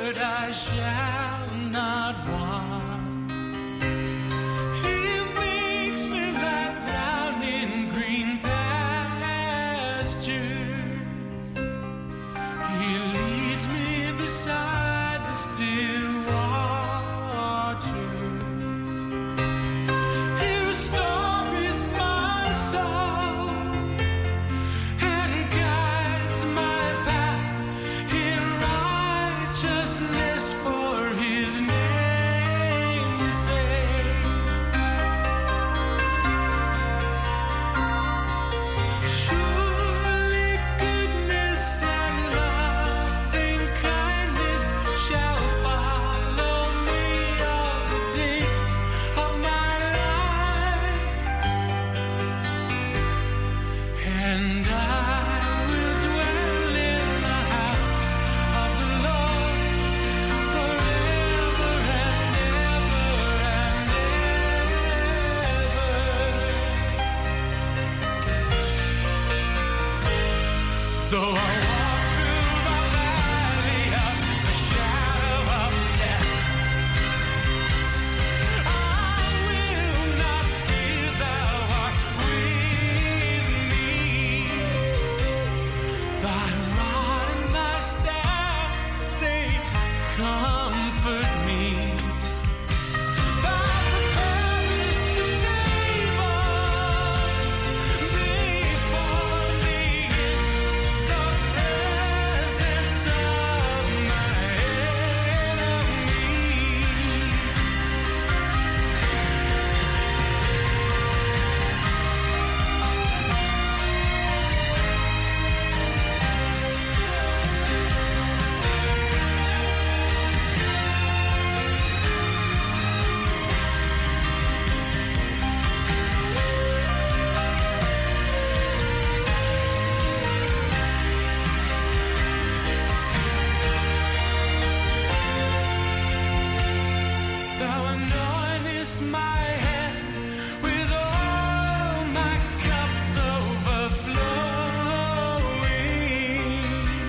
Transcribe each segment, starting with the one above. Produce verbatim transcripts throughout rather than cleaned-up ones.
shepherd I shall not want. He makes me lie down in green pastures. He leads me beside the still waters. He restoreth my soul and guides my path in righteousness for his name's sake. Surely goodness and loving kindness shall follow me all the days of my life, and I will dwell in the house of the Lord forever and ever and ever. Though I walk through the valley of the shadow of death, I will not fear, thou art with me. Thy rod and thy staff, they comfort me. Thou preparest a table before me in the presence of my enemies. Thou anointest my head with oil, my cups overflowing.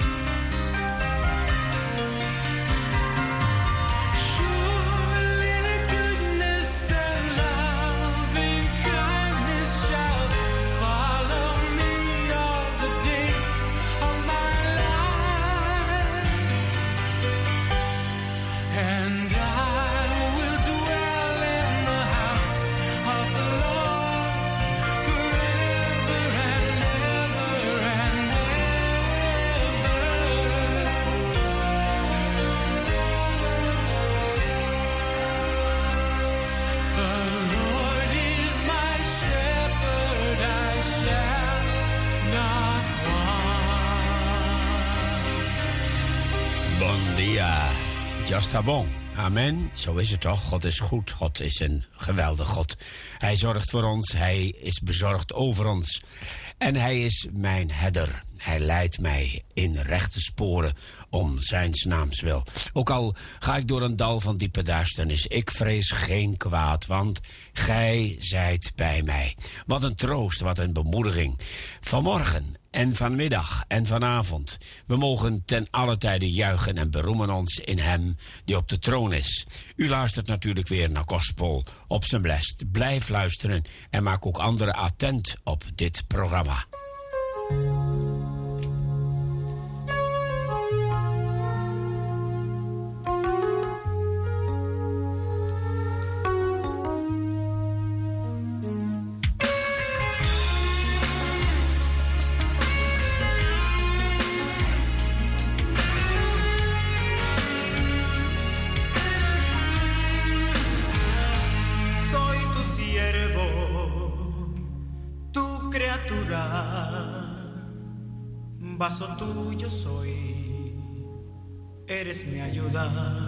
Surely goodness and loving kindness shall follow me all the days of my life, and I will dwell in the house of the Lord forever and ever and ever. The Lord is my shepherd, I shall not want. Bon dia. Just bon. Amen. Zo is het toch. God is goed. God is een geweldig God. Hij zorgt voor ons. Hij is bezorgd over ons. En hij is mijn herder. Hij leidt mij in rechte sporen om zijns naams wil. Ook al ga ik door een dal van diepe duisternis, ik vrees geen kwaad, want gij zijt bij mij. Wat een troost, wat een bemoediging. Vanmorgen en vanmiddag en vanavond. We mogen ten alle tijde juichen en beroemen ons in hem die op de troon is. U luistert natuurlijk weer naar Gospel op zijn blest. Blijf luisteren en maak ook anderen attent op dit programma. Soy tu siervo, tu criatura, vaso tuyo soy, eres mi ayuda.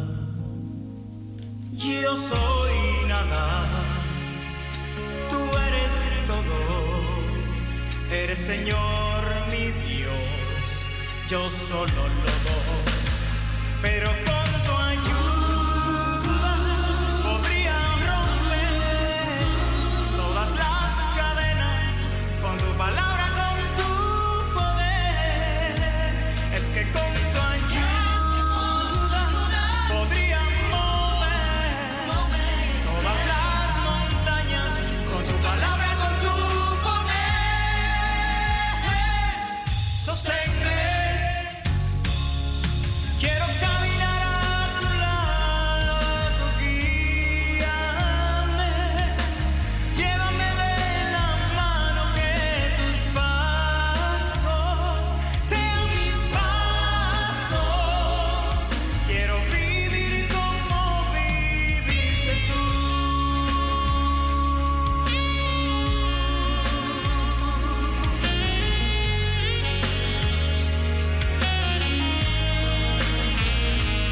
Yo soy nada, tú eres todo, eres Señor mi Dios, yo solo lobo, pero con tu ayuda podría romper todas las cadenas, con tu palabra, con tu poder, es que con tu ayuda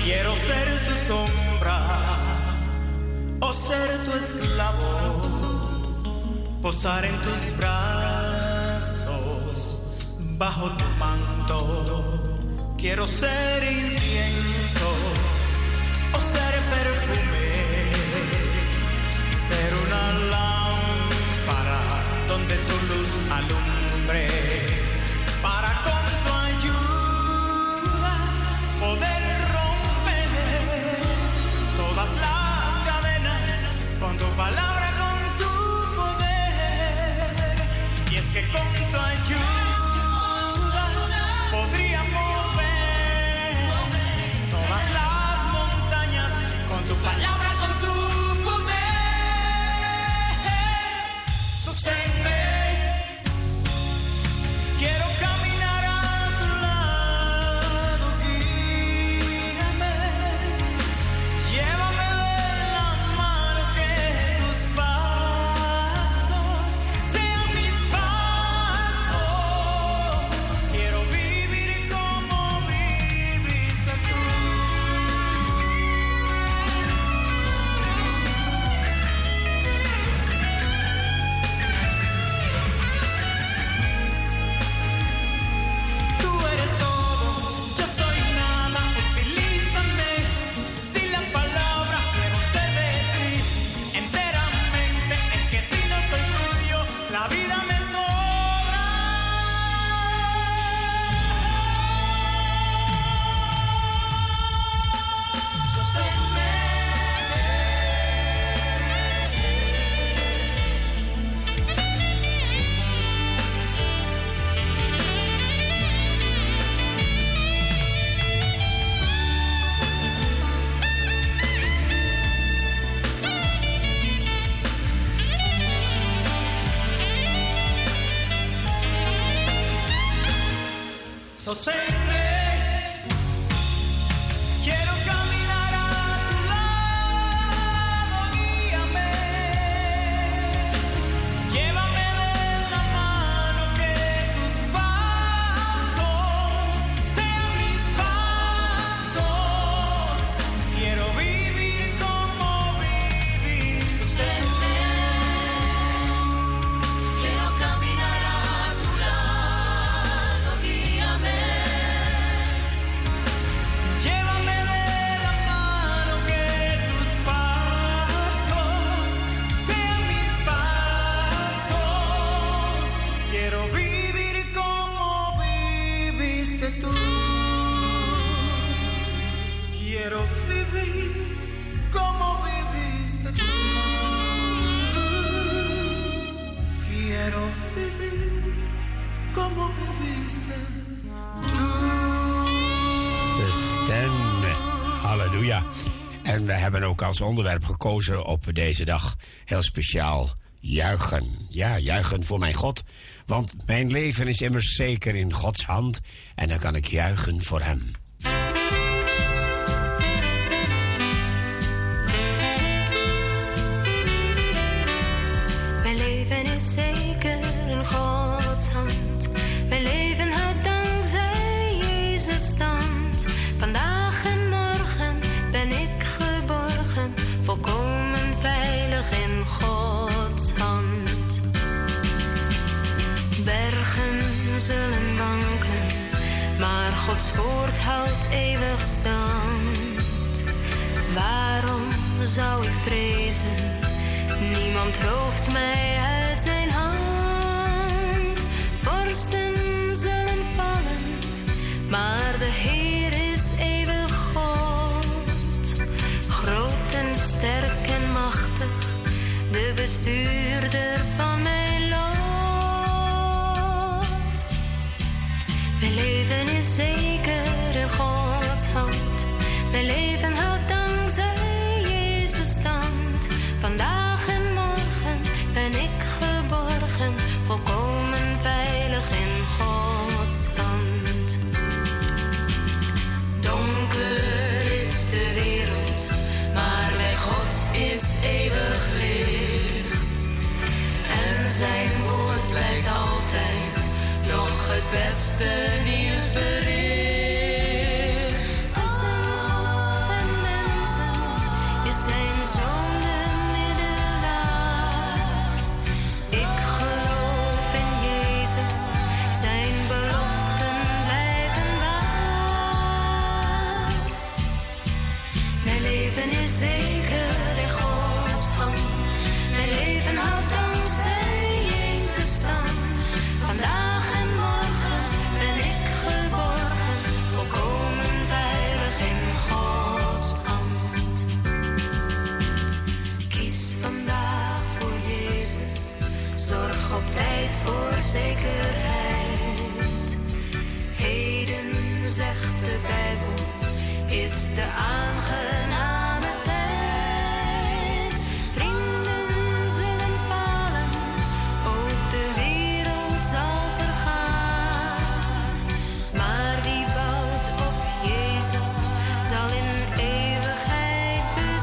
Quiero ser tu sombra o ser tu esclavo, posar en tus brazos, bajo tu manto. Quiero ser incienso o ser perfume, ser una lámpara donde tu luz alumbre, para con tu ayuda poder romper todas las cadenas con tu palabra, con tu poder. Y es que con tu ayuda podría mover todas las montañas con tu palabra, con tu poder. Sosténme, quiero caminar a tu lado, guíame, llévame de la mano, que tus pasos sean mis pasos. Quiero vivir como viviste tú. Tú eres todo, yo soy nada, utilízame, di la palabra, quiero ser de ti enteramente. Es que si no soy tuyo, la vida me sobra. Sosténme, sosténme, quiero caminar a tu lado, guíame, llévame de la mano, que tus pasos sean mis pasos. Quiero vivir como viviste tú. Quiero caminar a tu lado, guíame, Llévame de la mano, que tus pasos sean mis pasos. Quiero vivir como viviste tú. Quiero vivir como viviste tú. Quiero vivir como viviste tú. Zuster, halleluja. En we hebben ook als onderwerp gekozen op deze dag heel speciaal juichen. Ja, juichen voor mijn God. Want mijn leven is immers zeker in Gods hand. En dan kan ik juichen voor hem. mijn leven is zeker in Gods hand. Mijn leven houdt dankzij Jezus stand. Vandaag en morgen ben ik geborgen, volkomen veilig in Gods hand. Bergen zullen wankelen, maar Gods woord houdt eeuwig stand. Waarom zou ik vrezen? Niemand rooft mij uit zijn hand. Vorsten zullen vallen, maar de Heer is eeuwig God. Groot en sterk en machtig, de bestuurder van mijn lot. Mijn leven is zeker in Gods hand. Mijn leven houdt dankzij Jezus stand. Vandaag en morgen ben ik geborgen, volkomen veilig in Gods hand. leven is zeker in Gods hand. Mijn leven houdt dankzij Jezus stand. Vandaag en morgen ben ik geborgen, volkomen veilig in Gods hand. Kies vandaag voor Jezus, zorg op tijd voor zekerheid. Heden, zegt de Bijbel, is de aangename tijd. Vrienden zullen falen, ook de wereld zal vergaan. Maar wie bouwt op Jezus, zal in eeuwigheid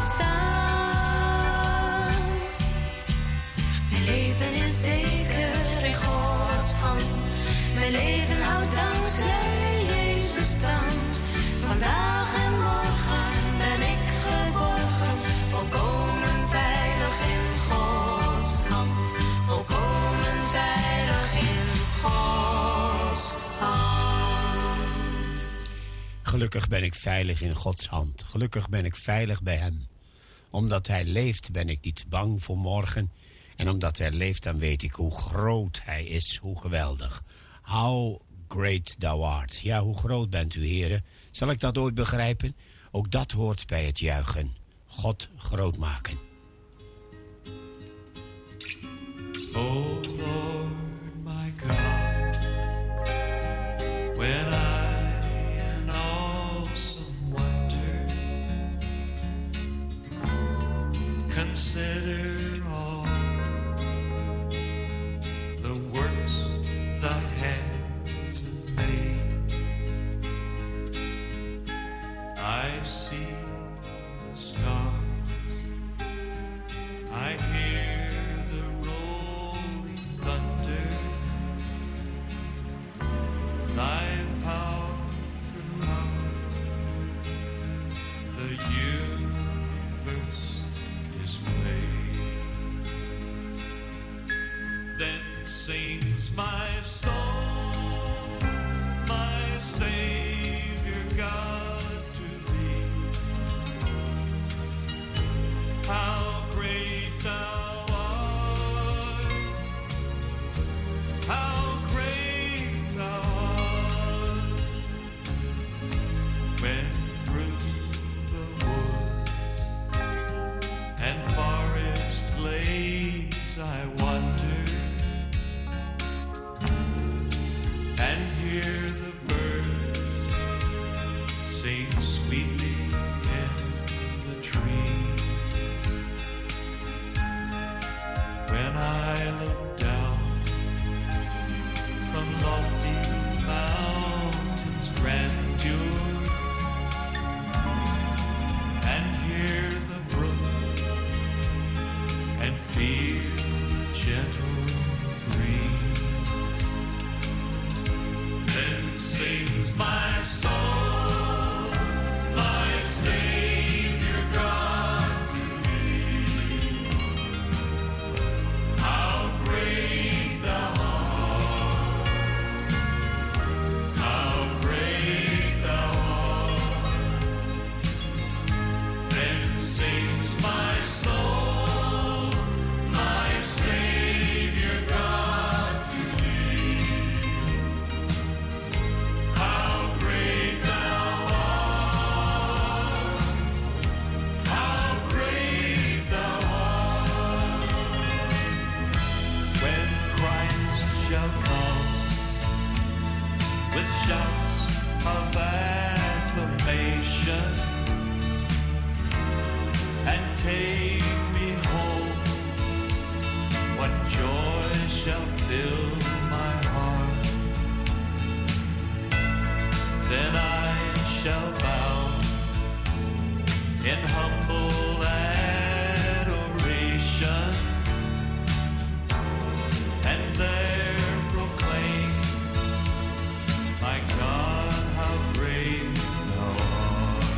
bestaan. Mijn leven is zeker in Gods hand. Mijn leven houdt dankzij Jezus stand. Vandaag en morgen ben ik geborgen, volkomen veilig in Gods hand. Volkomen veilig in Gods hand. Gelukkig ben ik veilig in Gods hand. Gelukkig ben ik veilig bij hem. Omdat hij leeft ben ik niet bang voor morgen. En omdat hij leeft dan weet ik hoe groot hij is, hoe geweldig. How great thou art. Ja, hoe groot bent u, heren? Zal ik dat ooit begrijpen? Ook dat hoort bij het juichen. God groot maken. Oh Lord, my God, when I in awesome wonder consider all the works thy hands have made, I see the stars, I hear the rolling thunder, thy power throughout the universe displayed. Then sings my soul, my Savior God, to thee. How great thou art, how great thou art. When through the woods and forest glades I wander and hear the birds sing sweetly in the trees. When I look down from lofty mountains' grandeur and hear the brook and feel the gentle breeze, then sings my soul, my Savior God, to thee. How great thou art, how great thou art. Then sings my soul, my Savior God, to thee. How great thou art, how great thou art. When Christ shall come with shouts of acclamation and take me home, what joy shall fill my heart. Then I shall bow in humble adoration and there proclaim, my God, how great thou art.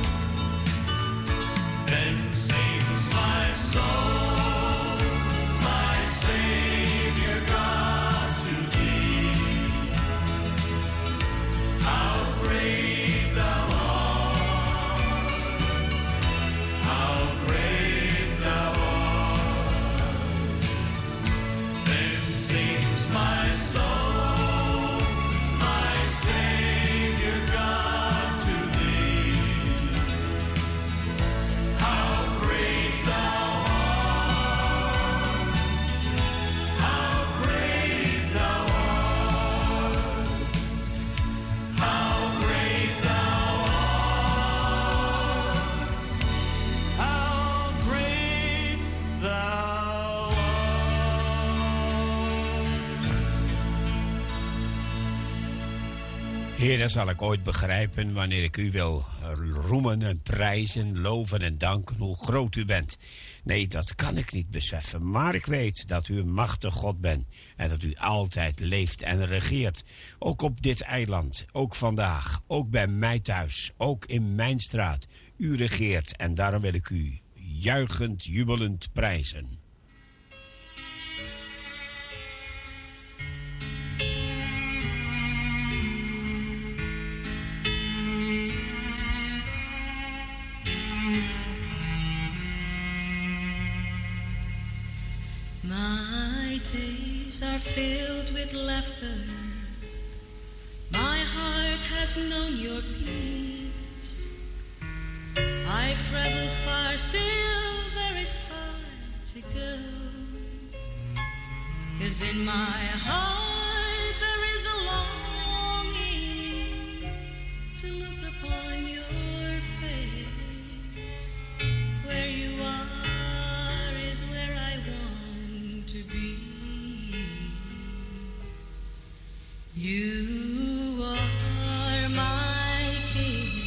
Then sings my soul, my Savior God, to thee. How great thou art, Heer, dat zal ik ooit begrijpen wanneer ik u wil roemen en prijzen, loven en danken hoe groot u bent. Nee, dat kan ik niet beseffen, maar ik weet dat u een machtig God bent en dat u altijd leeft en regeert. Ook op dit eiland, ook vandaag, ook bij mij thuis, ook in mijn straat. U regeert en daarom wil ik u juichend, jubelend prijzen. My days are filled with laughter. My heart has known your peace. I've traveled far, still there is far to go. 'Cause in my heart there is a longing to look upon your face. Where you are is where I want to be. You are my King.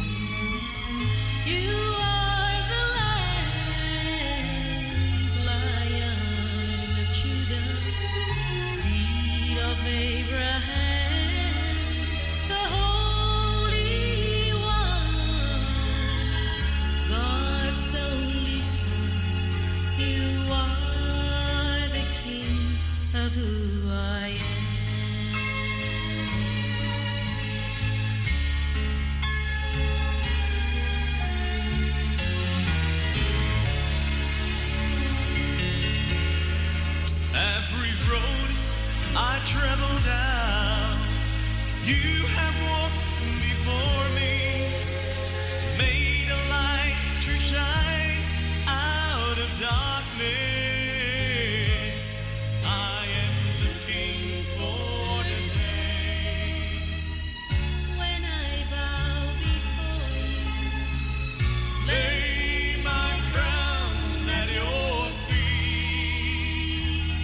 You are the Lamb, Lion of Judah, seed of Abraham, the Holy One, God's only Son. You are the King of who I am. Every road I travel down, you have walked before me, made a light to shine out of darkness. I am looking for the day When I bow before you, lay my crown at your feet.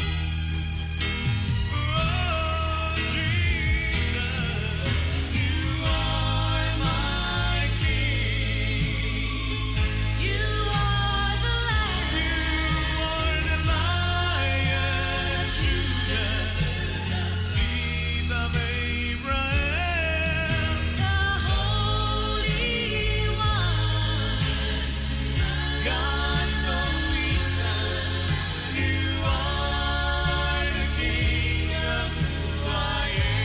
Oh, Jesus, you are my King. you are the Lamb, You are the Lion of Judah, seed of Abraham. the Holy One, God's only Son, you are the King of who I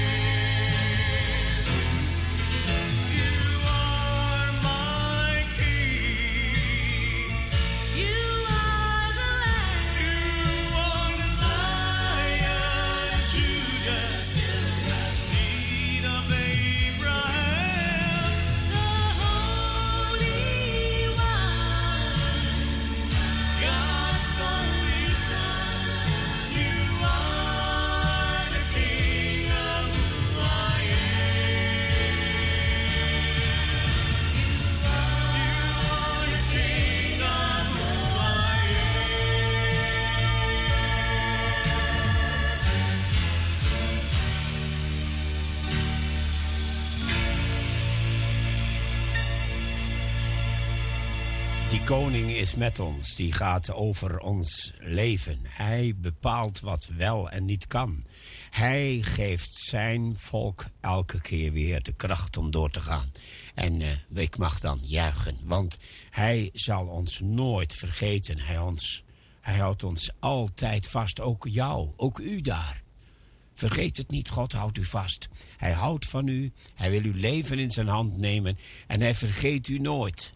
am. You are my King. you are the Lamb, You are the Lion of Judah, seed of Abraham. the Holy One, God's only Son, you are the King of who I Die koning is met ons, die gaat over ons leven. Hij bepaalt wat wel en niet kan. Hij geeft zijn volk elke keer weer de kracht om door te gaan. En uh, ik mag dan juichen, want hij zal ons nooit vergeten. Hij, ons, hij houdt ons altijd vast, ook jou, ook u daar. Vergeet het niet, God houdt u vast. Hij houdt van u, hij wil uw leven in zijn hand nemen en hij vergeet u nooit.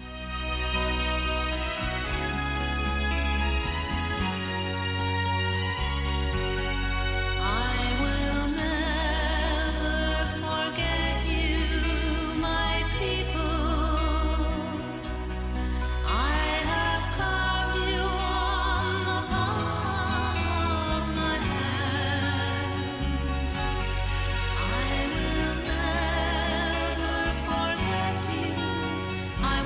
I will never forget you, my people. I have carved you on the palm of my hand. I will never forget you. I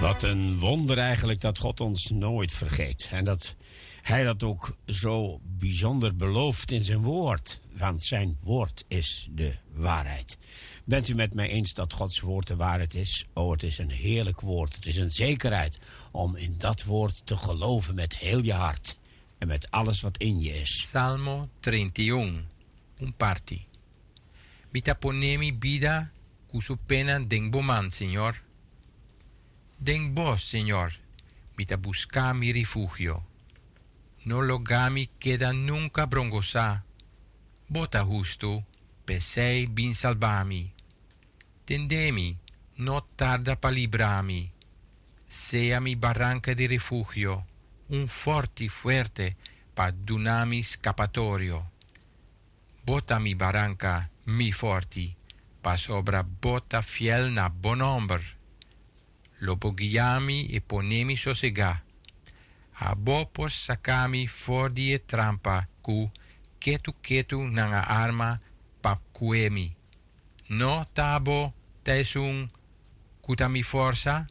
Wat een wonder eigenlijk dat God ons nooit vergeet. En dat hij dat ook zo bijzonder belooft in zijn woord. Want zijn woord is de waarheid. Bent u met mij eens dat Gods woord de waarheid is? Oh, het is een heerlijk woord. Het is een zekerheid om in dat woord te geloven met heel je hart. En met alles wat in je is. Salmo treinta y uno, un parti. Mita ponemi vida cusu pena den boman, Señor. Den vos, Señor, mita busca mi refugio. No logami queda nunca brongosa. Bota justo, pesei bin salvami. Tendemi, no tarda pa librami. Sea mi barranca di refugio, un forti fuerte pa dunami scappatorio. Bota mi barranca, mi forti, pa sobra bota fiel na bonomber. Lopo guiami e ponemi sosega. A bopos sacami for die trampa cu ketu ketu nanga arma pap kuemi. No tabo tesum kutami forza.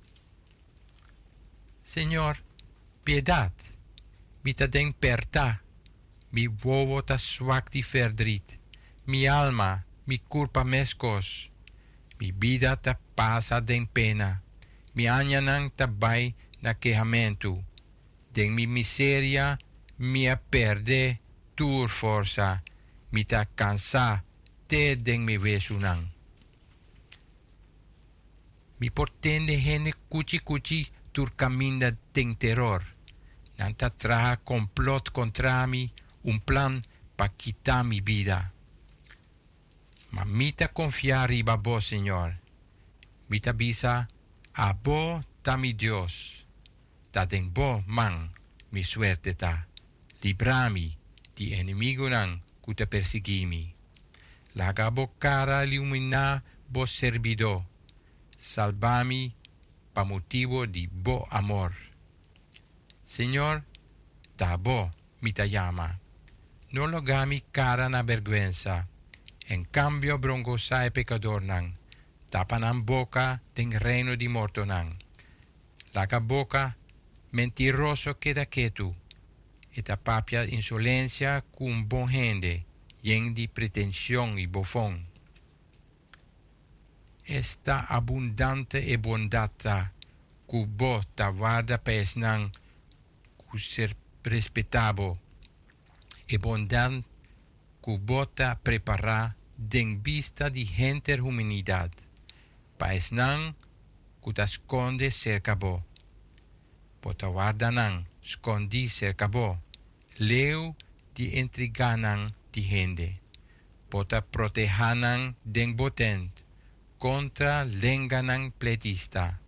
Señor, piedad, mita den perta, mi vovo ta swak di verdriet, mi alma, mi culpa mescos, mi vida ta pasa den pena, mi anyanang tabay na quejamento, den mi miseria, mia perde tur forza, mi ta cansa, te den mi vesunang. Mi portende gene cuchi cuchi tur caminda den terror, nanta traja complot contra mi, un plan pa quitar mi vida. Ma mita confiar riba bo, Señor. Mita bisa a bo ta mi Dios. Ta den bo man mi suerte ta. Librami di enemigo nan cuta persigimi. Laga bo cara illumina bo servido. Salvami pa motivo di bo amor. Señor, ta bo mita llama. No logami cara na vergüenza. En cambio brongosa e pecador nan. Tapanan boca den reino di morto nan. Laga boca mentiroso queda quieto. Eta papia insolencia cum bon gente. Yen di pretensión y bofón. Esta abundante e bondata cu bo ta guarda pesnan cu ser respetabo. E bondan cu bota prepara den vista di gente humanidad. Paesnan cu ta sconde cerca bo. Bota guardanan scondi cerca bo. Leu di intriganan di gente. Bota protejanan den botent contra lenganan pletista.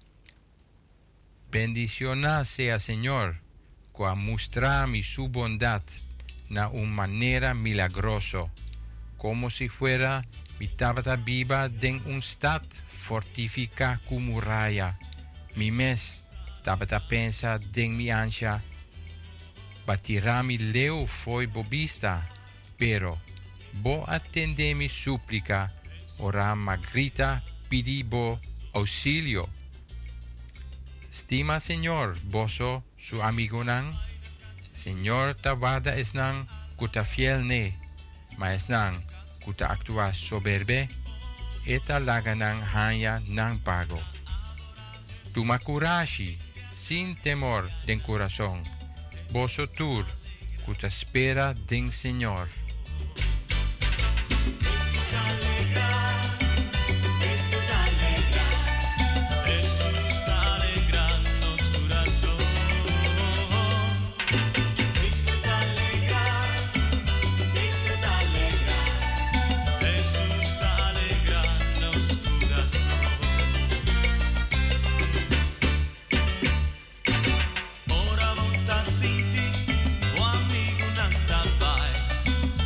Bendicioná sea Señor, qua mostrami su bondad na una manera milagroso, como si fuera mi tabata viva den un stat fortifica cu muralla. Mi mes tabata pensa den mi ansia, batirá mi leu foi bobista, pero bo attende mi supplica, ora magrita pidi bo auxilio. Stima Señor, boso su amigo nan, Señor tabada esnan kuta fiel ne, ma esnan kuta actua soberbe, eta laganan hanya nan pago. Tu makurashi, sin temor den corazón, boso tur, kuta espera den Señor. Ora volta siti, o amigo nan tabai.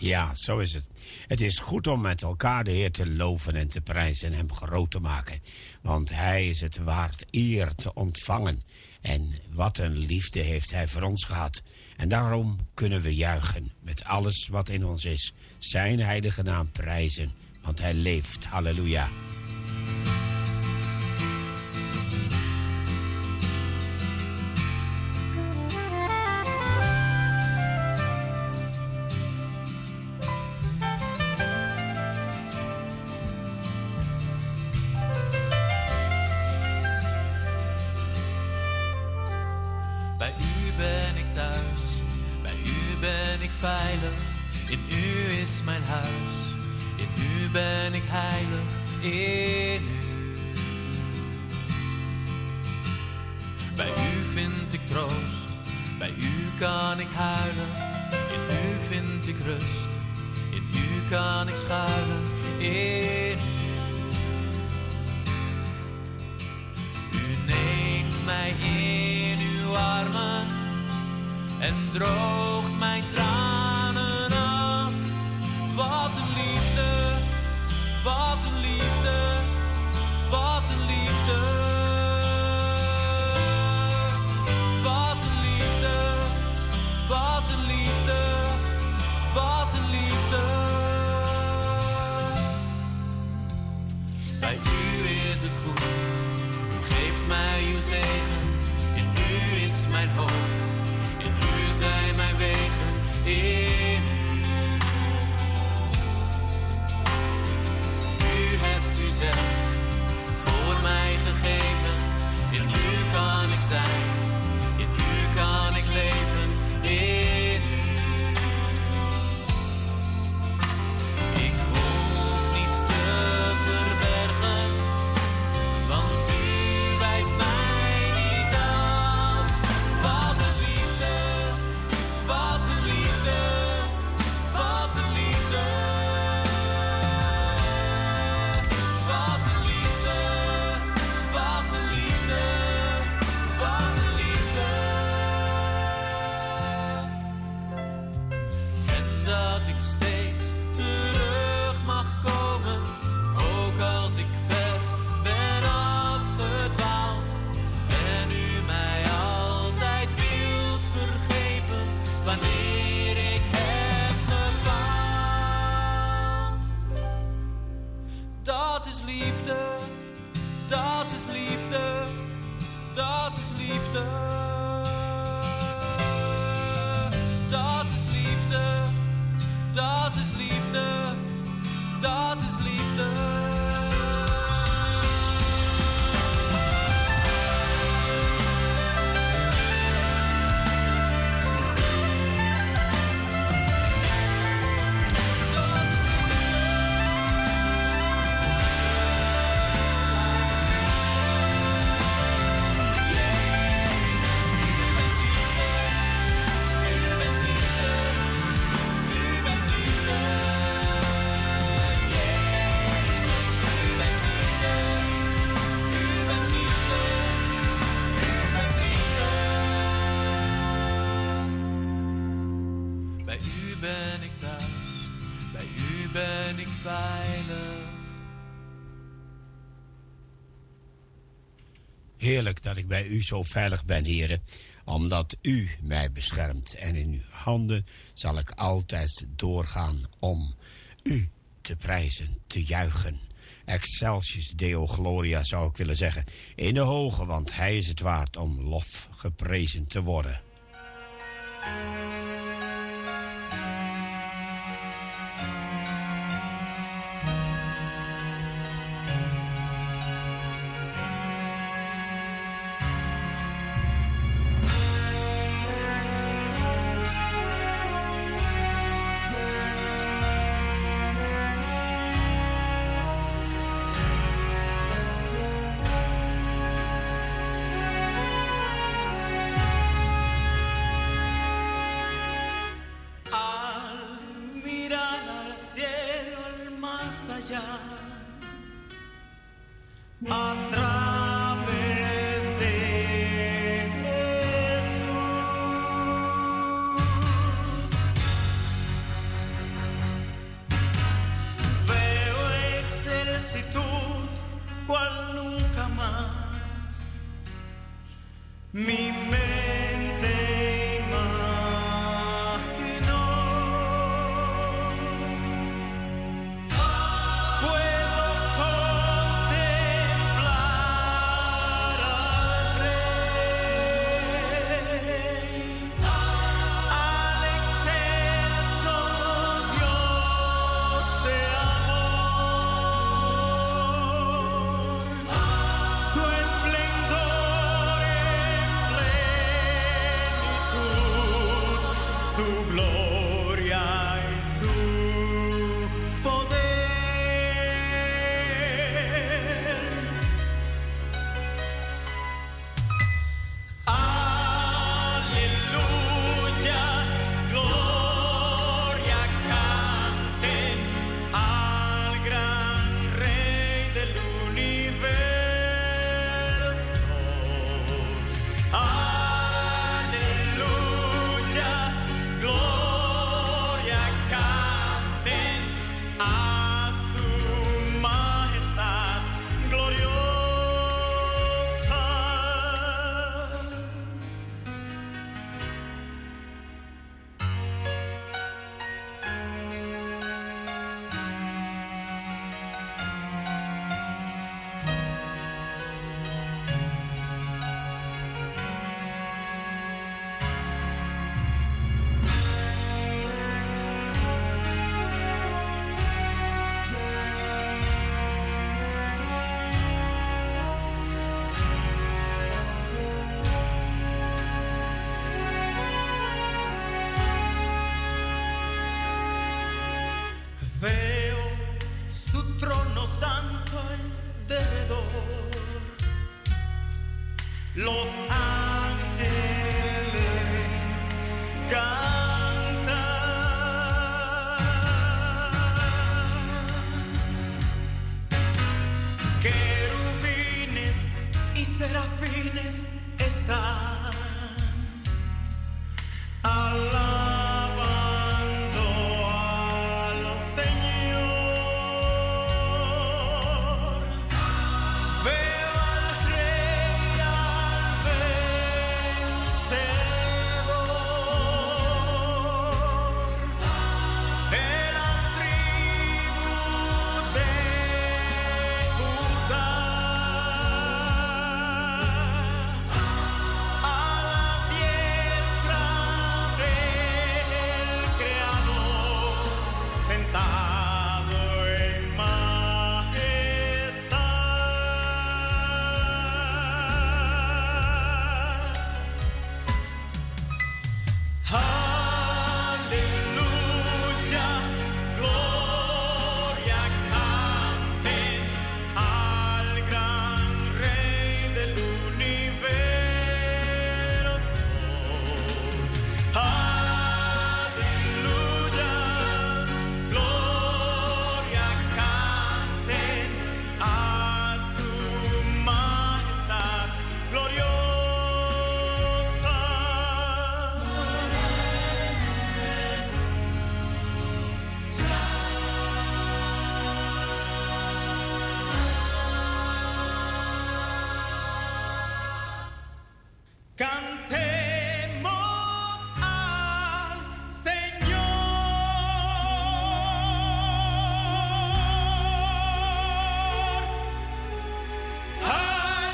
Ja, zo is het. Het is goed om met elkaar de Heer te loven en te prijzen en hem groot te maken. Want hij is het waard eer te ontvangen. En wat een liefde heeft hij voor ons gehad. En daarom kunnen we juichen met alles wat in ons is. Zijn heilige naam prijzen, want hij leeft. Halleluja. Bij u ben ik thuis, bij u ben ik veilig. In u is mijn huis, in u ben ik heilig, in u. Bij u vind ik troost, bij u kan ik huilen. In u vind ik rust, in u kan ik schuilen, in u. U neemt mij in uw armen en droogt mijn tranen af. Wat een liefde, wat een liefde, wat een liefde. Wat een liefde, wat een liefde, wat een liefde. Bij u is het goed, u geeft mij uw zegen. In u is mijn hoop, in u zijn mijn wegen, in u. U hebt u zelf voor mij gegeven. In u kan ik zijn, in u kan ik leven, in u. Ik hoef niets te verbergen, want u wijst mij niet af. Wat een liefde, wat een liefde, wat een liefde. Wat een liefde, wat een liefde, wat een liefde. En dat ik steeds terug mag komen, ook als ik ver ben afgedwaald. En u mij altijd wilt vergeven, wanneer ik heb gefaald. Dat is liefde, dat is liefde, dat is liefde. Dat is liefde, dat is liefde, dat is liefde. Bij u ben ik thuis, bij u ben ik veilig. Heerlijk dat ik bij u zo veilig ben, heren, omdat u mij beschermt. En in uw handen zal ik altijd doorgaan om u te prijzen, te juichen. Excelsis Deo Gloria zou ik willen zeggen. In de hoge, want hij is het waard om lof geprezen te worden. A través de Jesús. Mi mente imaginó. Puedo contemplar al Rey, al excelso Dios de amor, su esplendor en plenitud, su gloria y su poder. Aleluya, gloria canten al gran Rey del universo. Aleluya, gloria canten a su majestad gloriosa. Veo su trono santo en derredor, los ángeles cantan, querubines y serafines están alabando al Señor. Veo al Rey, al vencedor, de la tribu de Judá, a la diestra del Creador, sentado en majestad. Aleluya, gloria canten al gran Rey del universo. Aleluya, gloria canten a su majestad gloriosa. Cantemos al Señor, al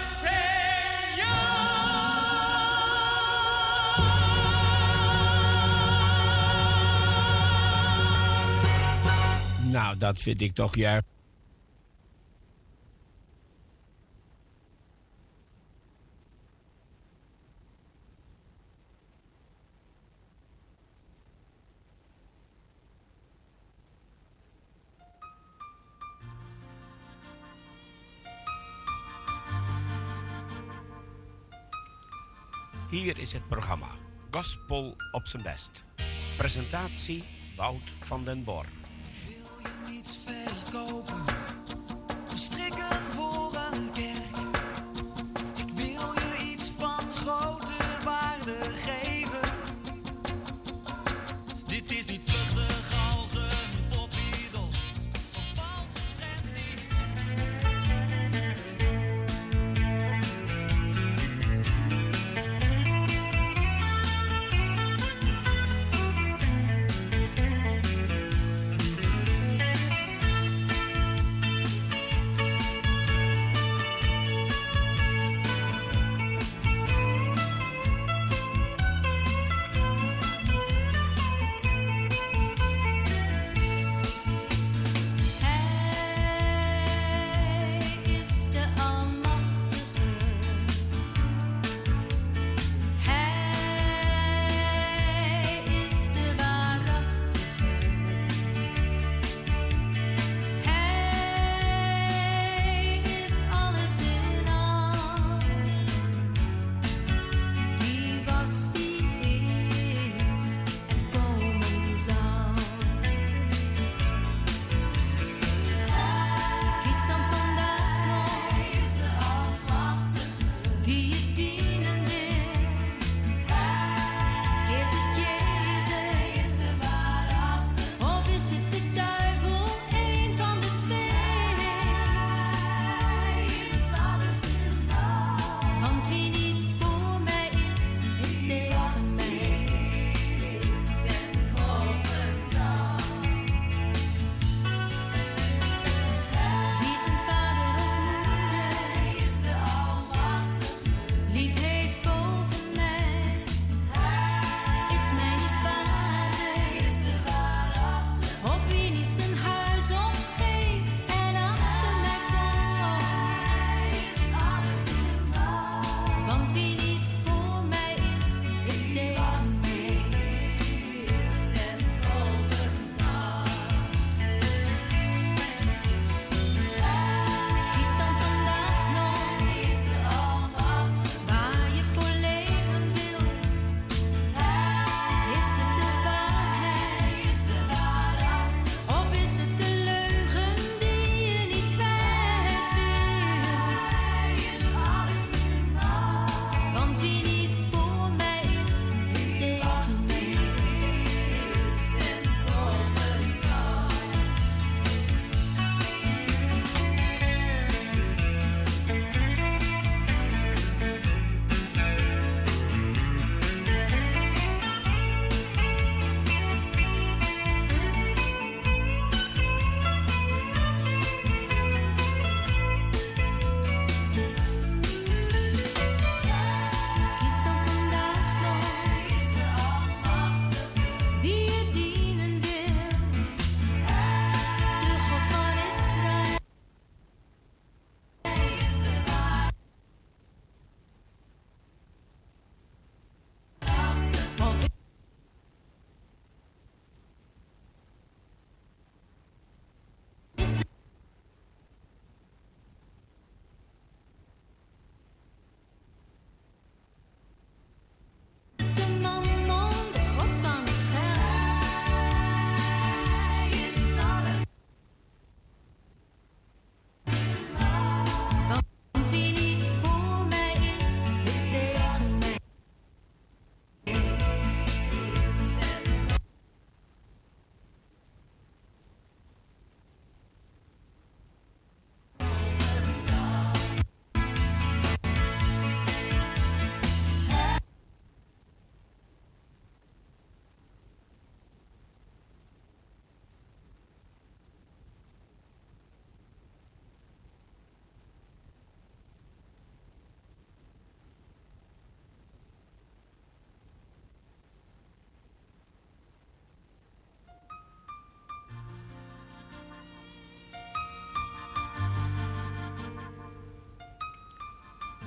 Señor. Nou, dat vind ik toch juist. Hier is het programma Gospel op zijn best. Presentatie Wout van den Bor. Wil je niets verkopen of strikken voor een kerk? Ik wil je iets van grote waarde geven. Dit is niet vluchtig als een popiedel of valse trendy.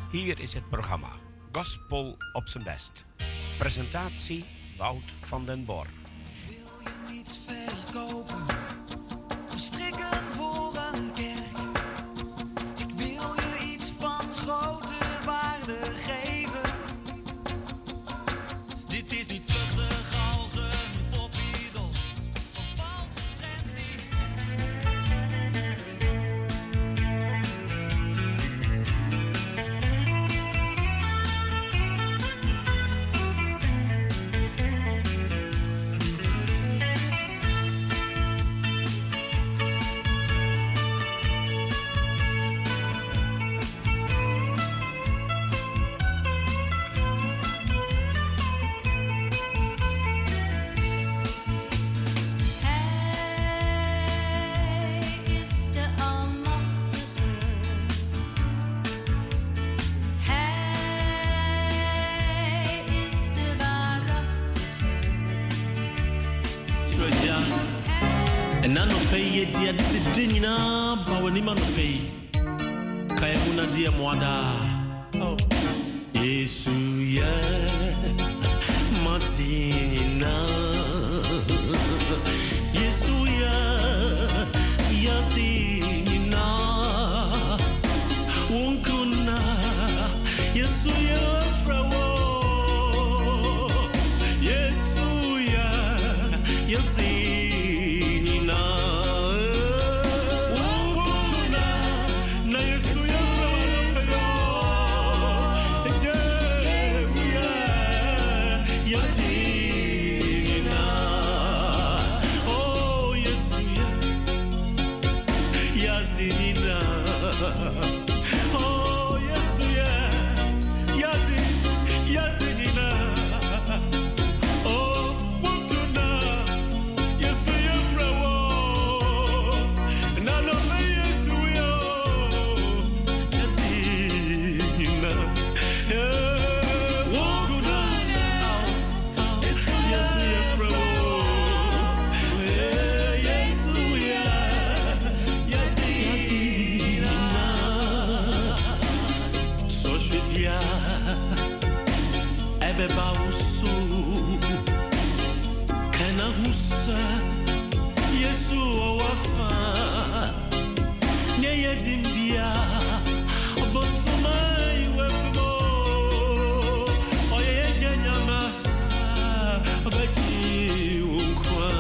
Hier is het programma Gospel op zijn best. Presentatie Wout van den Bor. Wil je niets verkopen of strikken voor een kerk? Ik wil je iets van grote waarde geven. Dit is niet vluchtig als een popiedel of valse trendy. En dan nog pay je dia discipline bawa ni man pay kaya una dia moada oh Yesu ya matina Yesu ya yatina unkuna Yesu ya frawo Yesu ya yatina Oh, yes, yeah, Yazi, Yazi, Nina. Oh, Wukuna, yes, yeah, Frawo. Nana, yes, we are Yazi, Nina. Wukuna, yes, yeah, Frawo. Yes, we are Yazi. Soshwidia Ebeba usu Kana husa Yesu owafa Nyeye dimbia Obotuma iwefimo Oyeye jenyama Obeji unkwa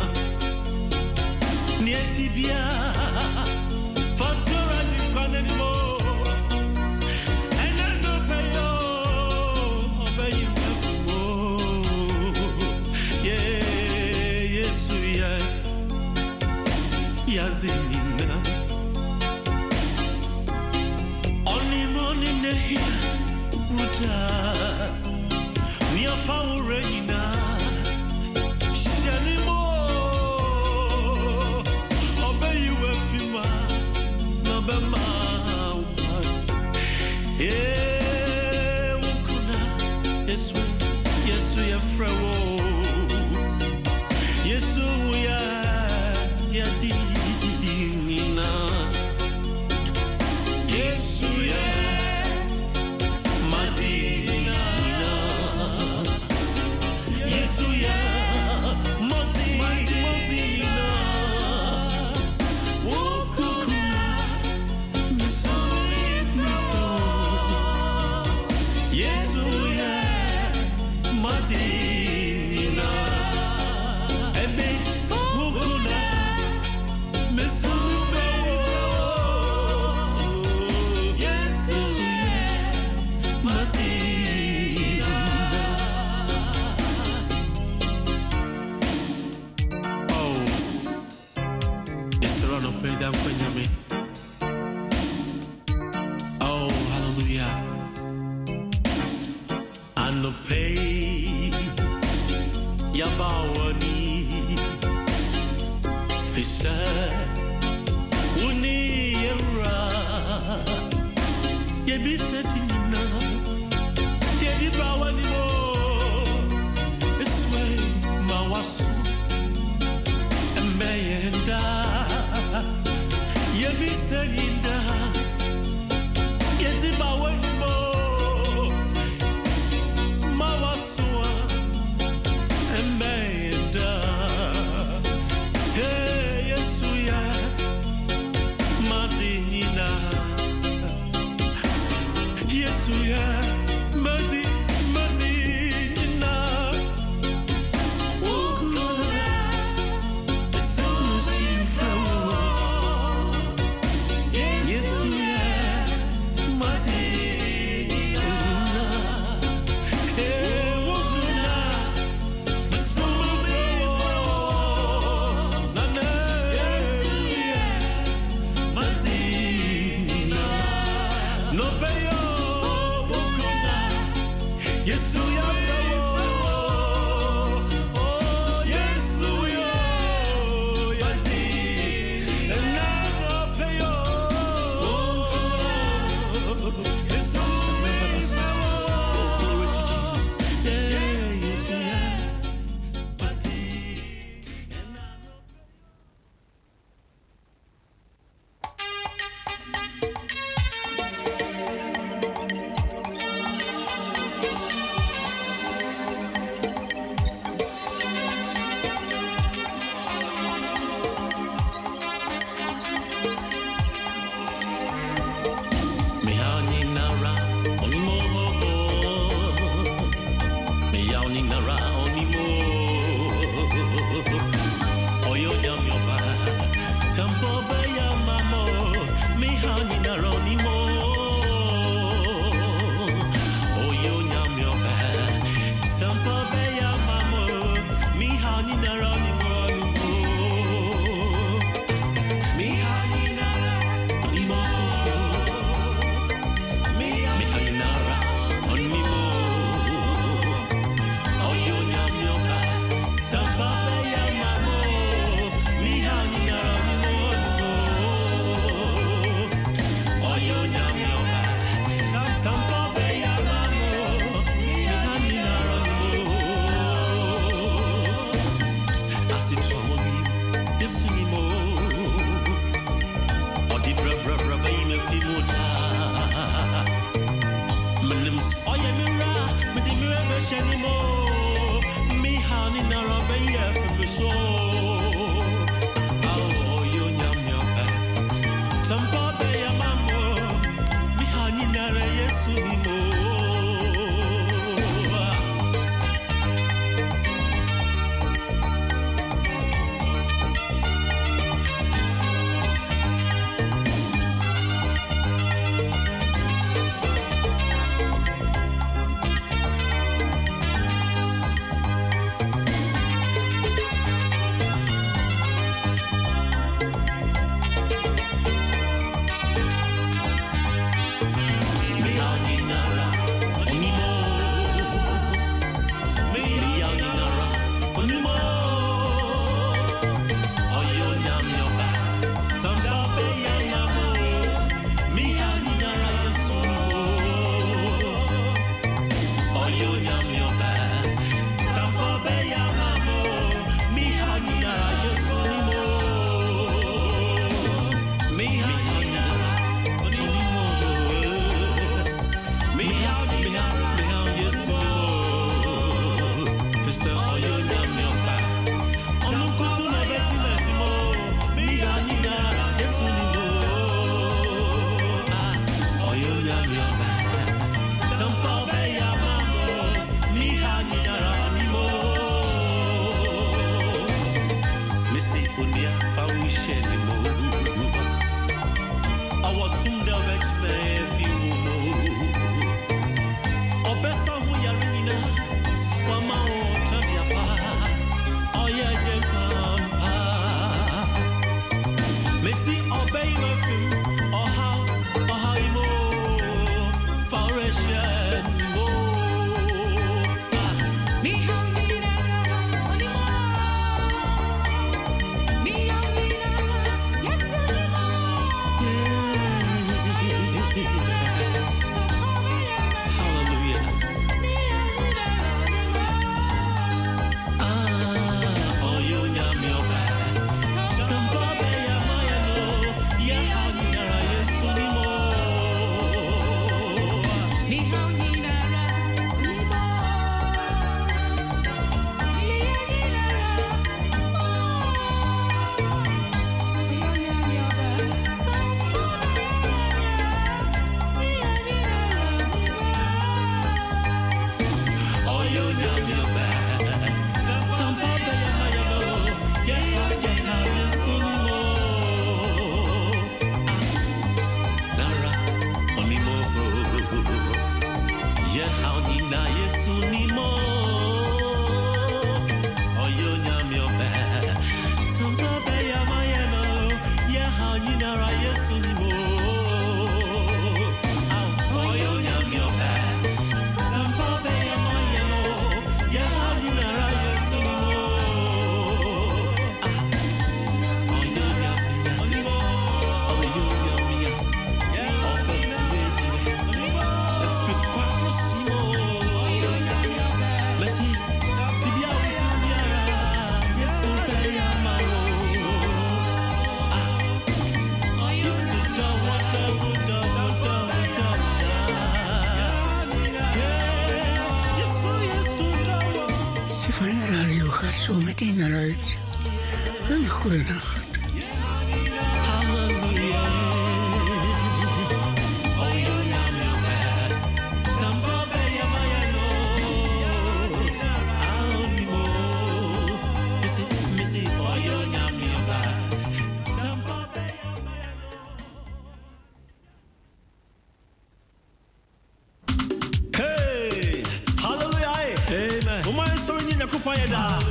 Nietibia Fatura di panenimo Yazina Only morning here Ruta Mia Faurina Shanimo Obey you Efima Nabema Eh Ukuna Yes we Yes we are Frawo Yes we are Yati Oh, hallelujah. And the pay Yabawani Fisha Uni Era Yebisetina Jedi Bawani Mo Iswe Mawasu Mayenda Yebisetina Yeti Bawani Mo Me na Yesu ni mo. Oyo nyami obe. Tampa be ya mayano. Ya ha ni na ra Yesu ni mo. Oyo nyami obe. Tampa be ya mayano. Ya ha ni na ra Yesu ni mo. Oyo nyami mo. Oyo nyami ya. Ya obe tuwe tuwe. Efe kwa kusimo. Oyo nyami obe. Merci. Tibia tibia. Yesu be ya malo. Yesu da wada wada wada wada. Yesu Yesu da wada. Symfonie Radio gaat zo meteen naar uit. Een goede nacht. Hey, hallelujah. Amen. Uma sorry ni nakufanya da.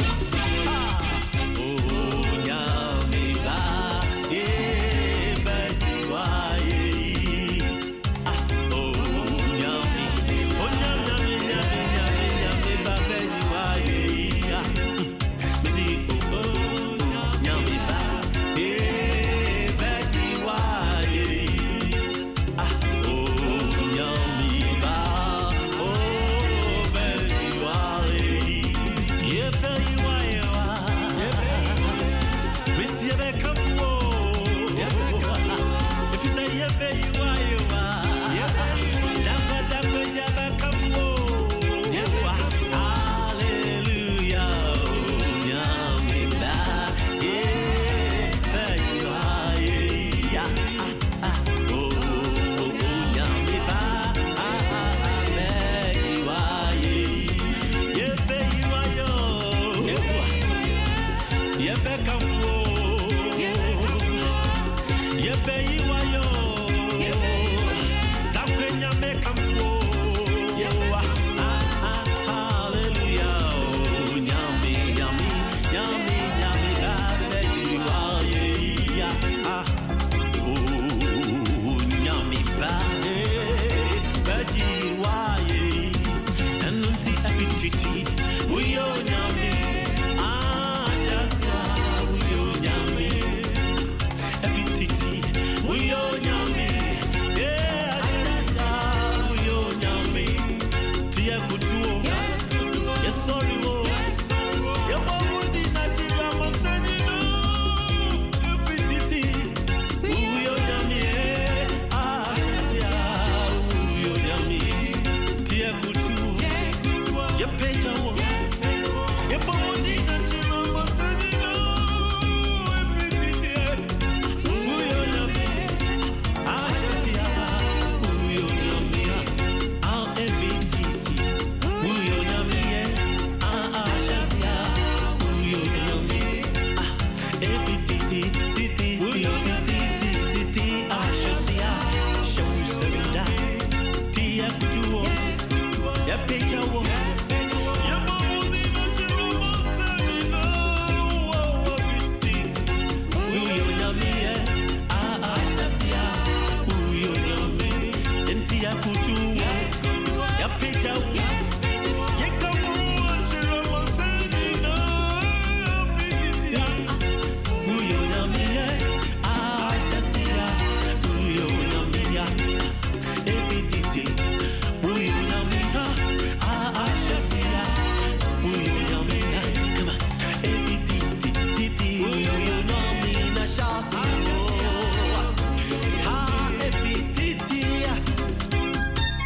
Oh, nyami ba. Eh, bati wa ye. Ah, oh, nyami. Oh, nyami, nyami, nyami, nyami ba bati wa ye. Ah, misi oh, nyami ba. Eh, bati wa ye. Ah, oh, nyami ba. Oh, bati wa ye. Yeah, bati wa ye wa. Misi ye be kafu. If you say yeah, bati wa ye wa. Dapper, dapper, yeah, be kafu. Hallelujah. Nyami ba. Yeah, bati wa ye. Ah, ah, oh, oh, nyami ba. Ah, ah, bati wa ye. Yeah, bati wa yo. Yeah, be kafu. Yeah, bati wa yo. Dapper, nyami kafu. Ah, ah, hallelujah. Oh, nyami, nyami, nyami, nyami ba. Bati wa ye. Ah, oh, nyami ba. Eh, bati wa ye. Enunti apititi. Uyo nyami. Ah, shasa. Uyo nyami. Apititi. Uyo nyami. Yeah, shasa. Uyo nyami. Tia kutuo. Yes, sorry, wo. Yeah, wabuti na chiba masani no. Apititi. Uyo nyami. eh. Ah, shasa. Uyo nyami. Tia kutuo. Yeah, peja wo. Yeah, wabuti na chiba masani no. Apititi. Uyo nyami. Ah, shasa. Uyo nyami. Ah, apititi. Uyo nyami. Ah, ah, shasa. Uyo nyami. Ah, apititi. Titi. Uyo titi. Titi. Ah, shasa. Show sevenda. Tia kutuo. Yeah, peja wo. Yeah, wabuti na chiba masani no. Apititi. Uyo nyami. Ah, ah, shasa. Uyo nyami. Tia kutuo. Yeah, peja wo. Yeah, kamu chiba masani no. Apititi. Uyo nyami. Ah, shasa. Uyo nyami. Apititi. Uyo nyami. Ah, ah, shasa. Uyo nyami. Come on. Apititi. Titi. Uyo nyami na shasa. Ah, apititi.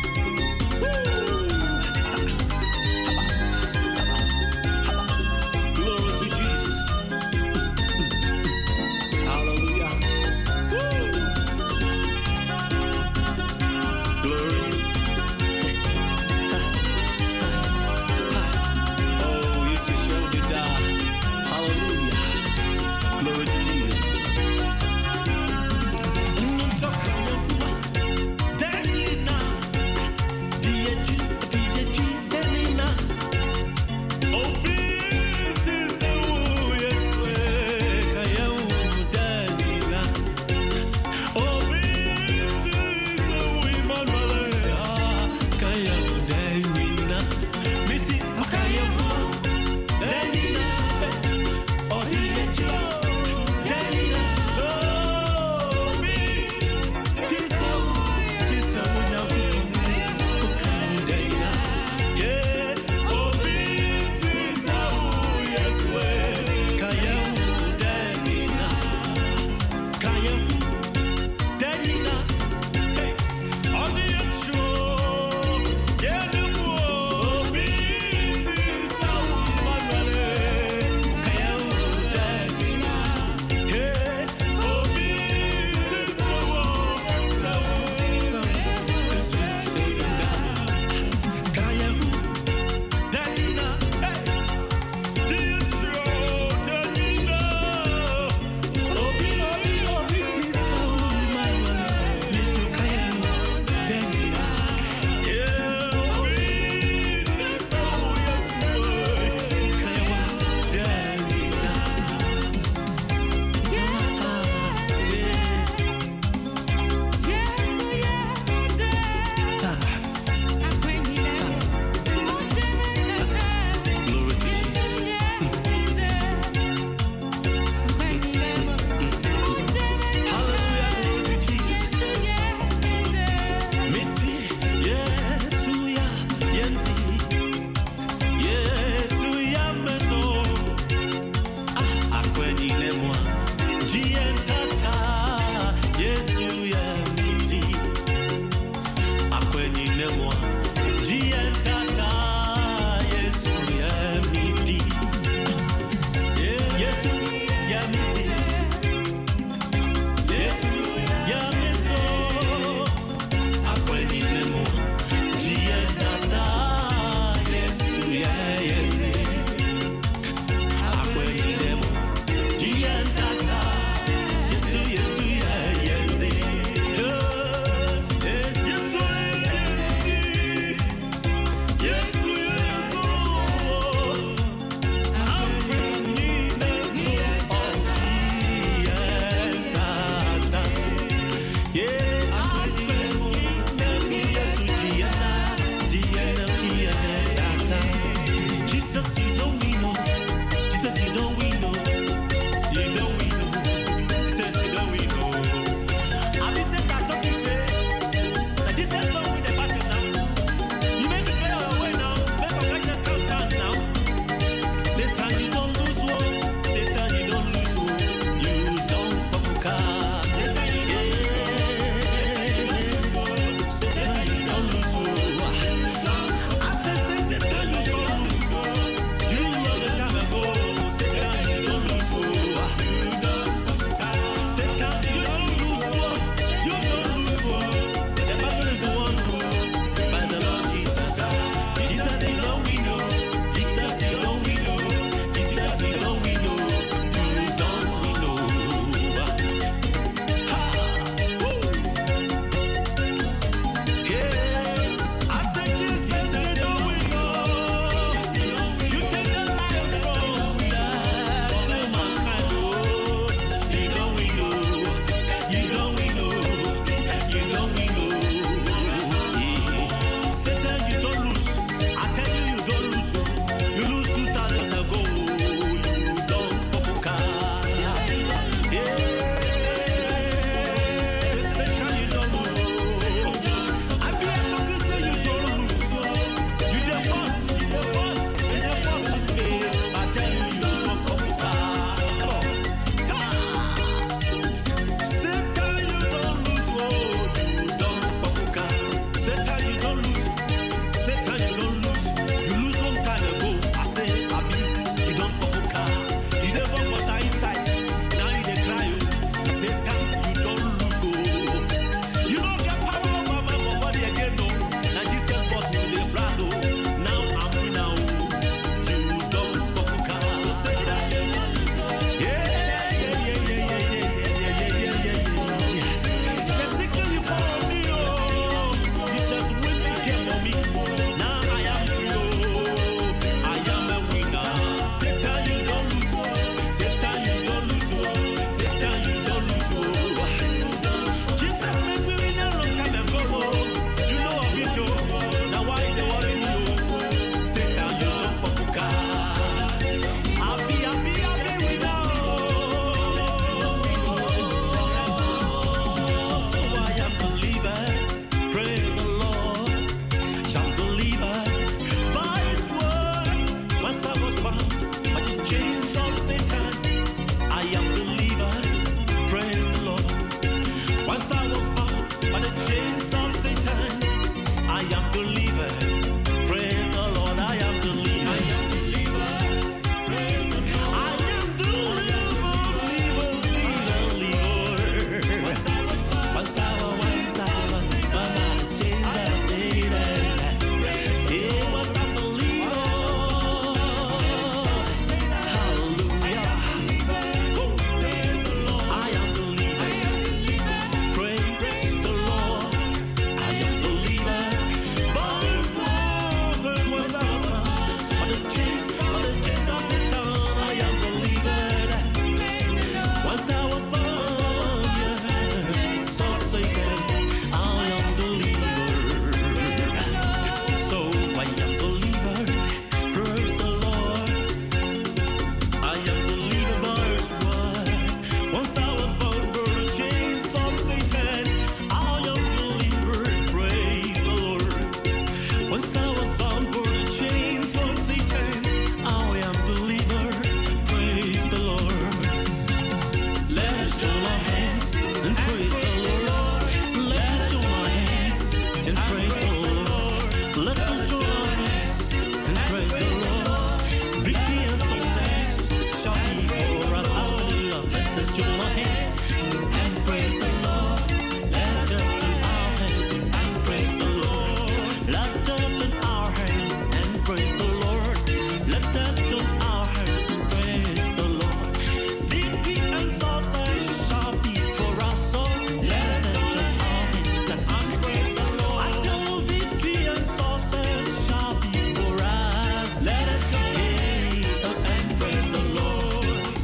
and praise the Lord. Let us join our hands and praise the Lord. Victory and success shall be for us. Hallelujah. Let us join our hands and praise the Lord. Let us join our hands and praise the Lord. Let us join our hands and praise the Lord. Let us join our hands and praise the Lord. Victory and success shall be for us. So let us join our hands and praise the Lord. I tell you, victory and success shall be for us. Let us join and praise the Lord.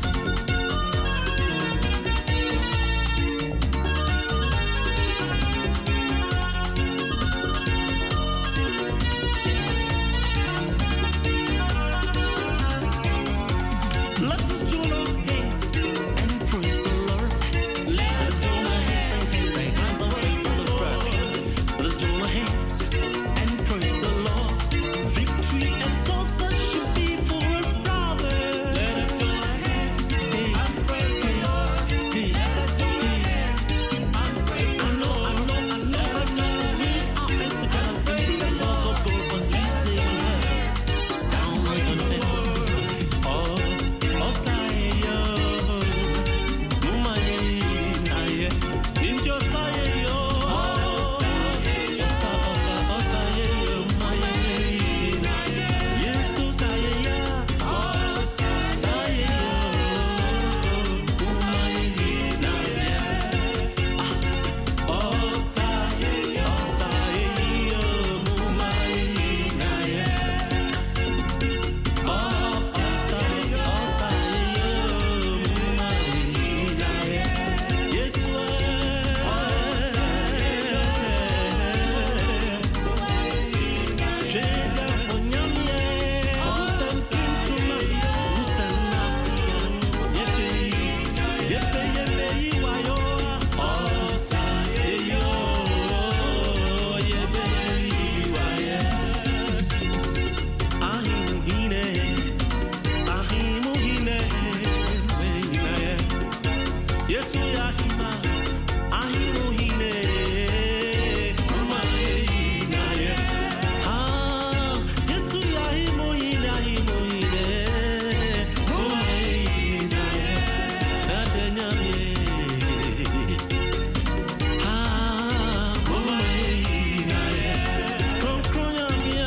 Let us join our hands and praise the Lord. Let us join our hands and hands and praise the Lord. Let us join our hands and praise the Lord. Victory and success should be for us, brother. Let us join our hands and praise the Lord. Let us join our hands and praise the Lord. I know, I know, I know, I know. We are hands together. Praise the Lord. Go for this day on earth. Down like a net. Oh, oh, say yo. Mumaye na ye. Injo say yo. Oh, say yo. Oh, say yo. Mumaye na ye. Yesu say yo. Oh, say yo. Mumaye na ye. Oh, say yo. Say yo. Mumaye na ye. Oh, say yo. Yesu yahima, ahimu hine, mumaye na ye. Ah, Yesu yahimu hine, ahimu hine, mumaye na ye. Adenyamye, ah, mumaye na ye. Konkronyamye,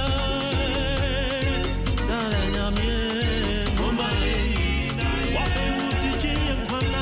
adenyamye, mumaye na ye. Wape utije yekwana.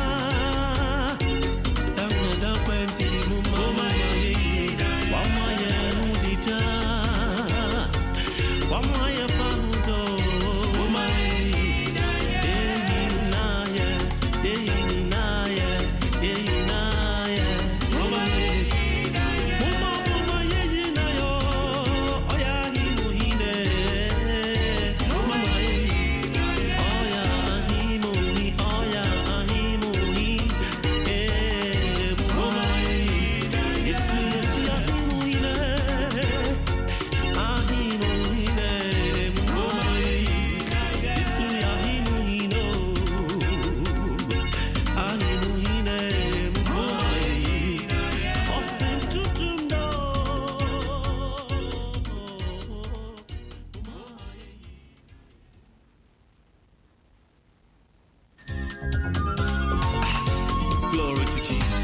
Glory to Jesus.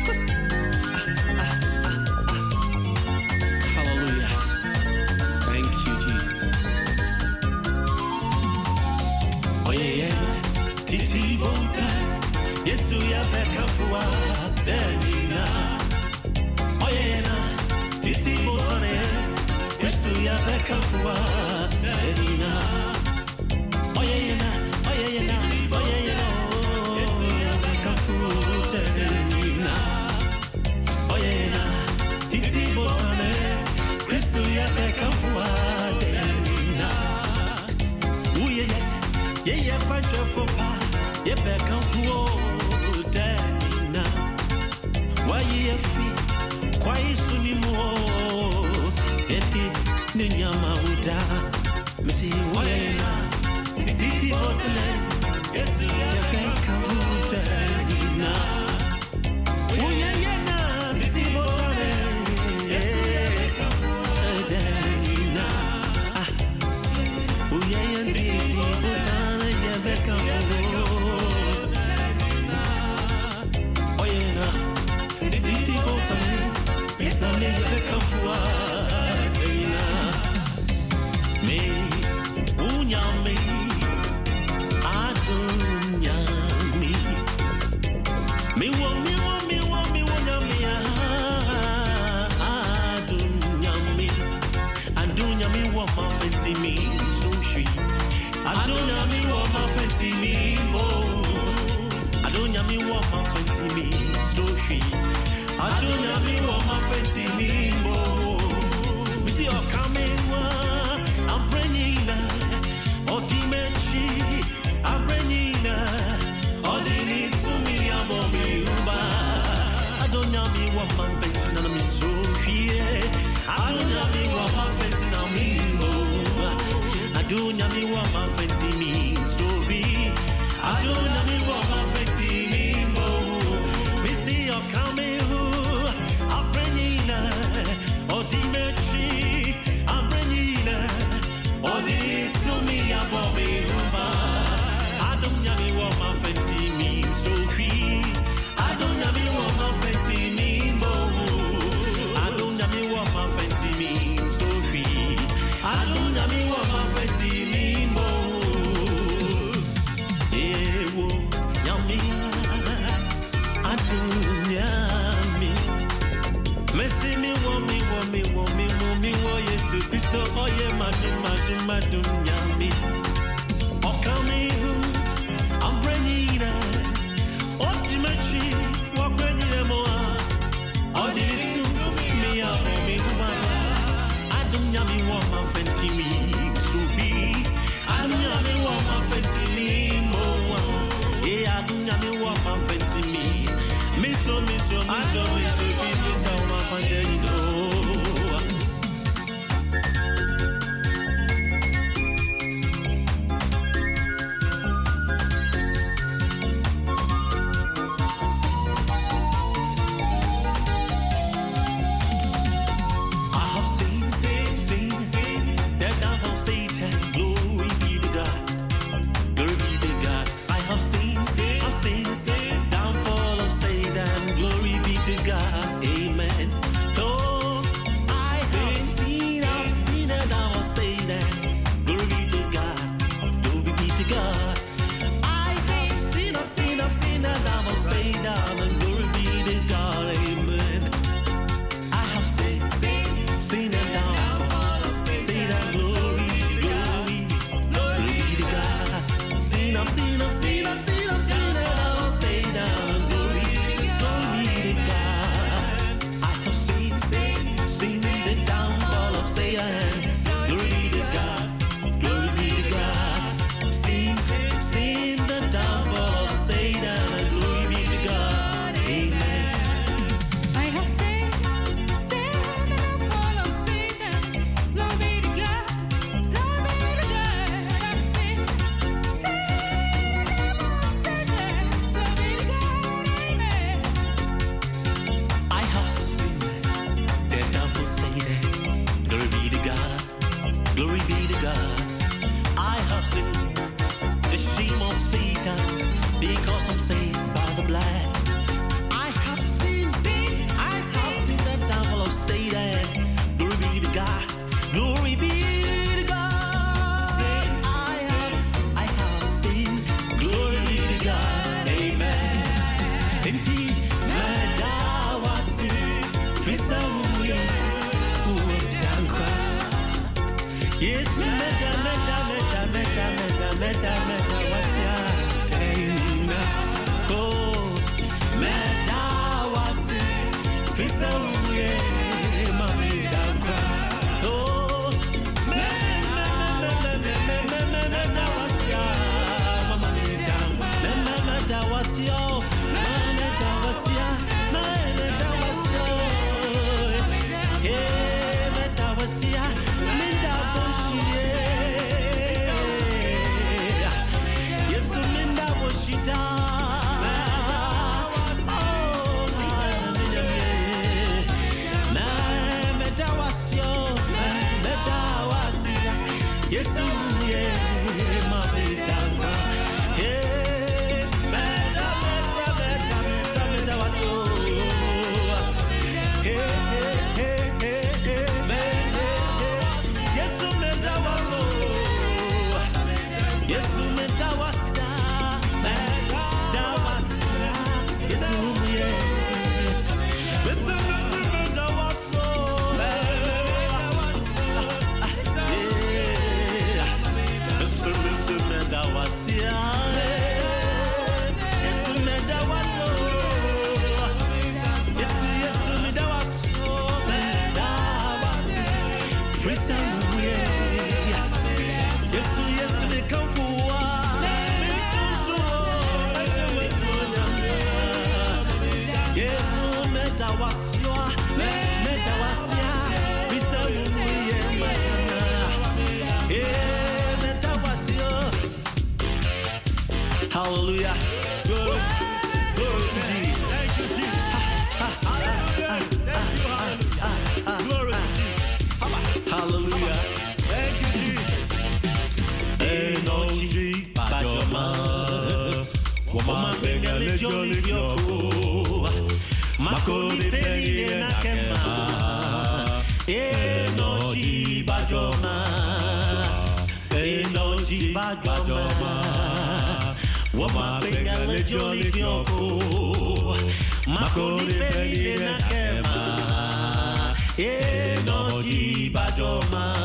Hallelujah. Thank you, Jesus. Oh yeah, yeah. Titi Bonta. Yesu ya beka fuwa denina. Oh yeah, na. Titi Bonta ne. Yesu ya beka fuwa denina. Oh yeah, na. Oh yeah, na. Oh yeah, na. Yesu ya beka fuwa denina. Oh yeah, na. Titi Bonta ne. Yesu ya beka fuwa denina. Oh yeah, yeah. Yeah, yeah, fight your fopa. Yeah, back and forth, Dana. Why you feel quite soon you more? Eti Ninyama Uda. Missy Wayna. Titi Bottle. Yes, yeah, back and forth, Dana. Oh, yeah, yeah, Titi Bottle. Yes, yeah. fenti mi so sweet. Adonya mi wa ma fenti mi mo. Adonya mi wa ma fenti mi so sweet. Adonya mi wa ma fenti mi mo. We see you coming one. I'm praying now. Oh dimension. I'm praying now. Oh they need to me. I'm on me uba. Adonya mi wa ma fenti na mi so sweet. Adonya mi wa ma fenti na mi mo. Adonya mi wa ma fenti mi story. Adonya mi wa ma fenti mi mo. We see you coming. I'm praying now. Oh dimension. I'm praying now. Oh they need to me. I'm on me uba. Adonya mi wa ma fenti mi story. Adonya mi wa ma fenti mi mo. Adonya mi wa ma fenti mi story. Adonya mi wa ma fenti mi mo. Ewo nyami. Adonya mi. Messi mi wo mi wo mi wo mi wo mi wo Yesu Kristo oye madum madum madum nyami. Okami I'm bringing it. Ultimately, what when you mo. All the to me a me uma. Adum nyami wo ma fenti mi so bi. Adum nyami wo ma fenti mi mo. Eh adum nyami wo ma fenti mi. Mi so mi so mi so mi so bi mi so ma fenti do. I have seen, seen, seen, seen the downfall of Satan. Glory be to God. Glory be to God. I have seen, seen, I've seen, seen downfall of Satan. Glory be to God. Amen. Oh, I have seen, I've seen the downfall of Satan. Glory be to God. Glory be to God. I have seen, I've seen, I've seen the downfall of Satan. And glory be to God. Amen. I have seen, seen, seen the downfall of Satan. Glory, glory, glory to God. Seen, I've seen, I've seen, I've seen, I've seen the downfall of Satan. Glory, glory to God. I have seen, seen, seen the downfall of Satan. Glory to God, glory to God. Seen, seen the downfall of Satan. Glory be to God. Amen. I have seen, seen the downfall of Satan. Glory to God, glory to God. I've seen, seen the downfall of Satan. Glory to God, amen. I have seen the devil say that. Glory be to God. Glory be to God. I have seen the shame of Satan because I'm saved by the blood. I have seen, seen, I have seen the devil of Satan. Glory be to God. Glory be to God. I have, I have seen. Glory be to God. Amen. Indeed, Madawasi, Visamuye, Udankwa. Yes, Meda, Meda, Meda, Meda, Meda, Meda, Meda, Wasia, Taina. Oh, Madawasi, Visamuye, Mami Dankwa. Oh, Meda, Meda, Meda, Meda, Wasia, Mami Dankwa. Meda, Meda, Wasia, Meda, Wasia, Meda, Wasia. Eh, Meda, Wasia, Meda, Wasia. Yesu, Meda, Wasia. Oh, Meda, Wasia, Meda, Wasia. Yesu, yeah, Mami Dankwa. Eh, Meda, Meda, Meda, Meda, Meda, Wasia. Hey, hey, hey, hey, hey, Meda, Yesu, Meda, Wasia. Yesu, Meda, Wasia. Meda, Wasia. Yesu, yeah. Yesu, Meda, Wasia. Meda, Wasia. Yeah. Hallelujah. Glory, glory to Jesus. Thank you, Jesus. Hallelujah. Thank you, hallelujah. Glory to Jesus. Hallelujah. Thank you, Jesus. Enoji Bajoma. Wama benga lejoli yoko. Makoni pengi nakema. Enoji Bajoma. Enoji Bajoma. Wama benga lejoli yoko. Makoni pengi nakema. Enoji Bajoma.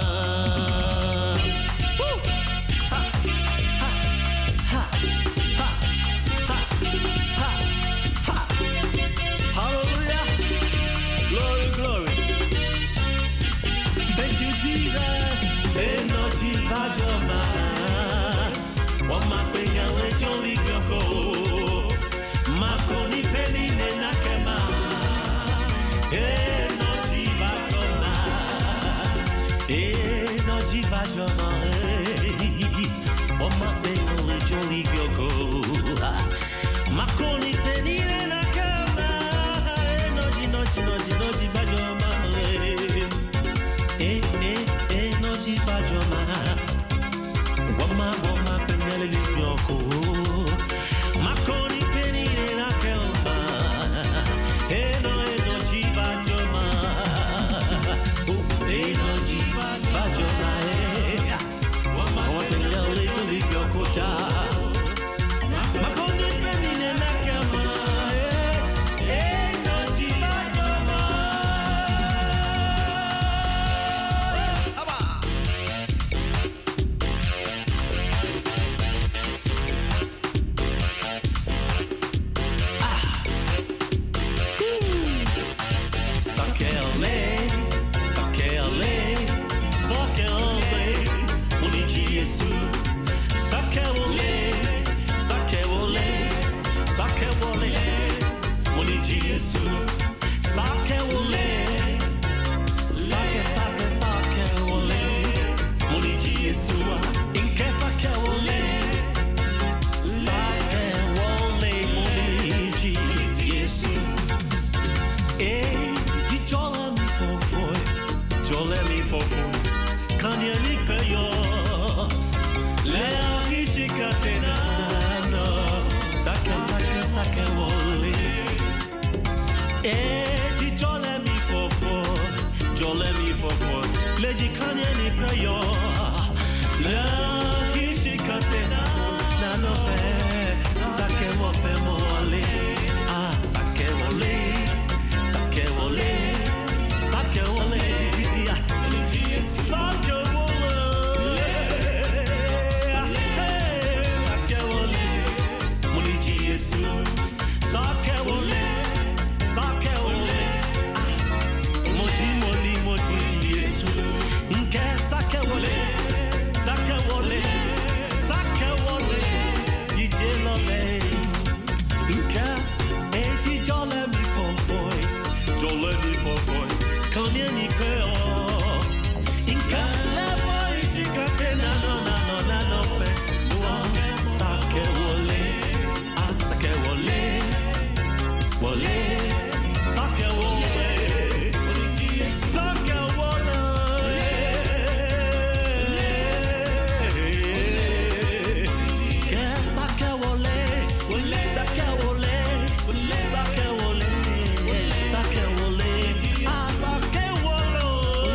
Sake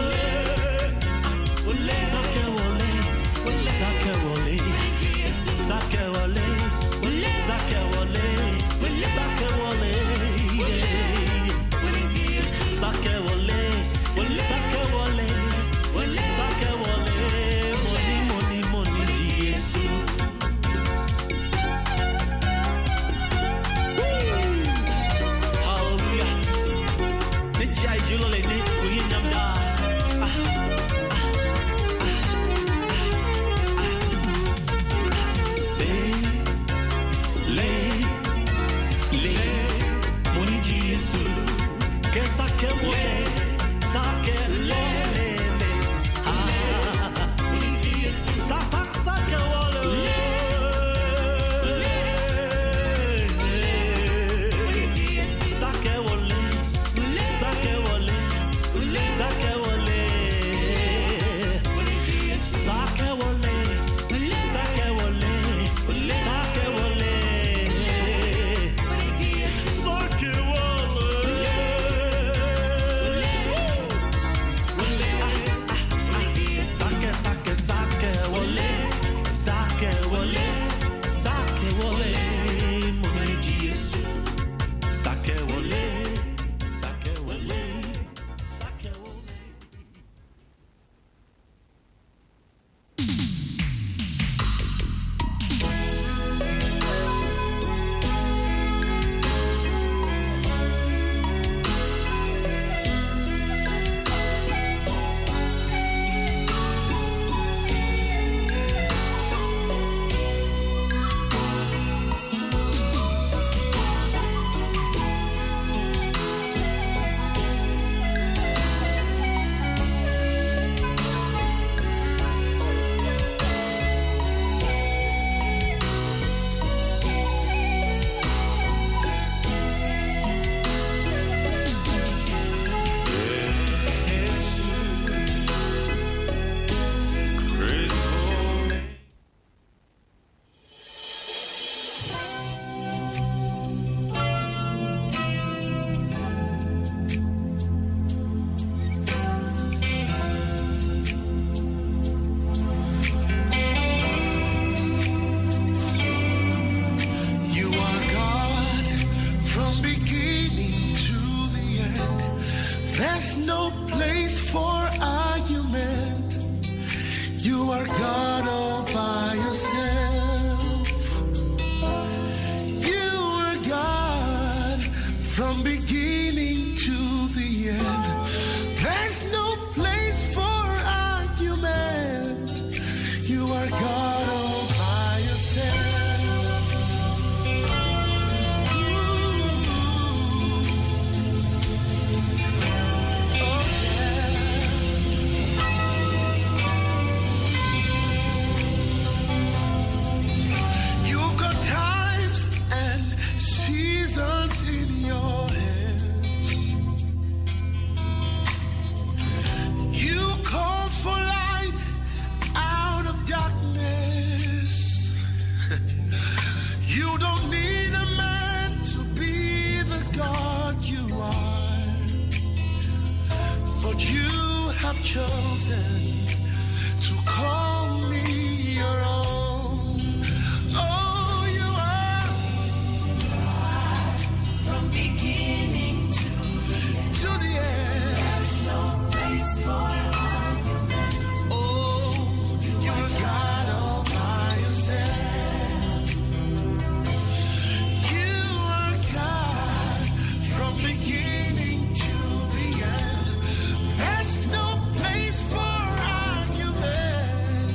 chosen to call me your own. Oh, you are from beginning to the end. To the end. There's no place for argument. Oh, you're God all by yourself. You are God from beginning to the end. There's no place for argument.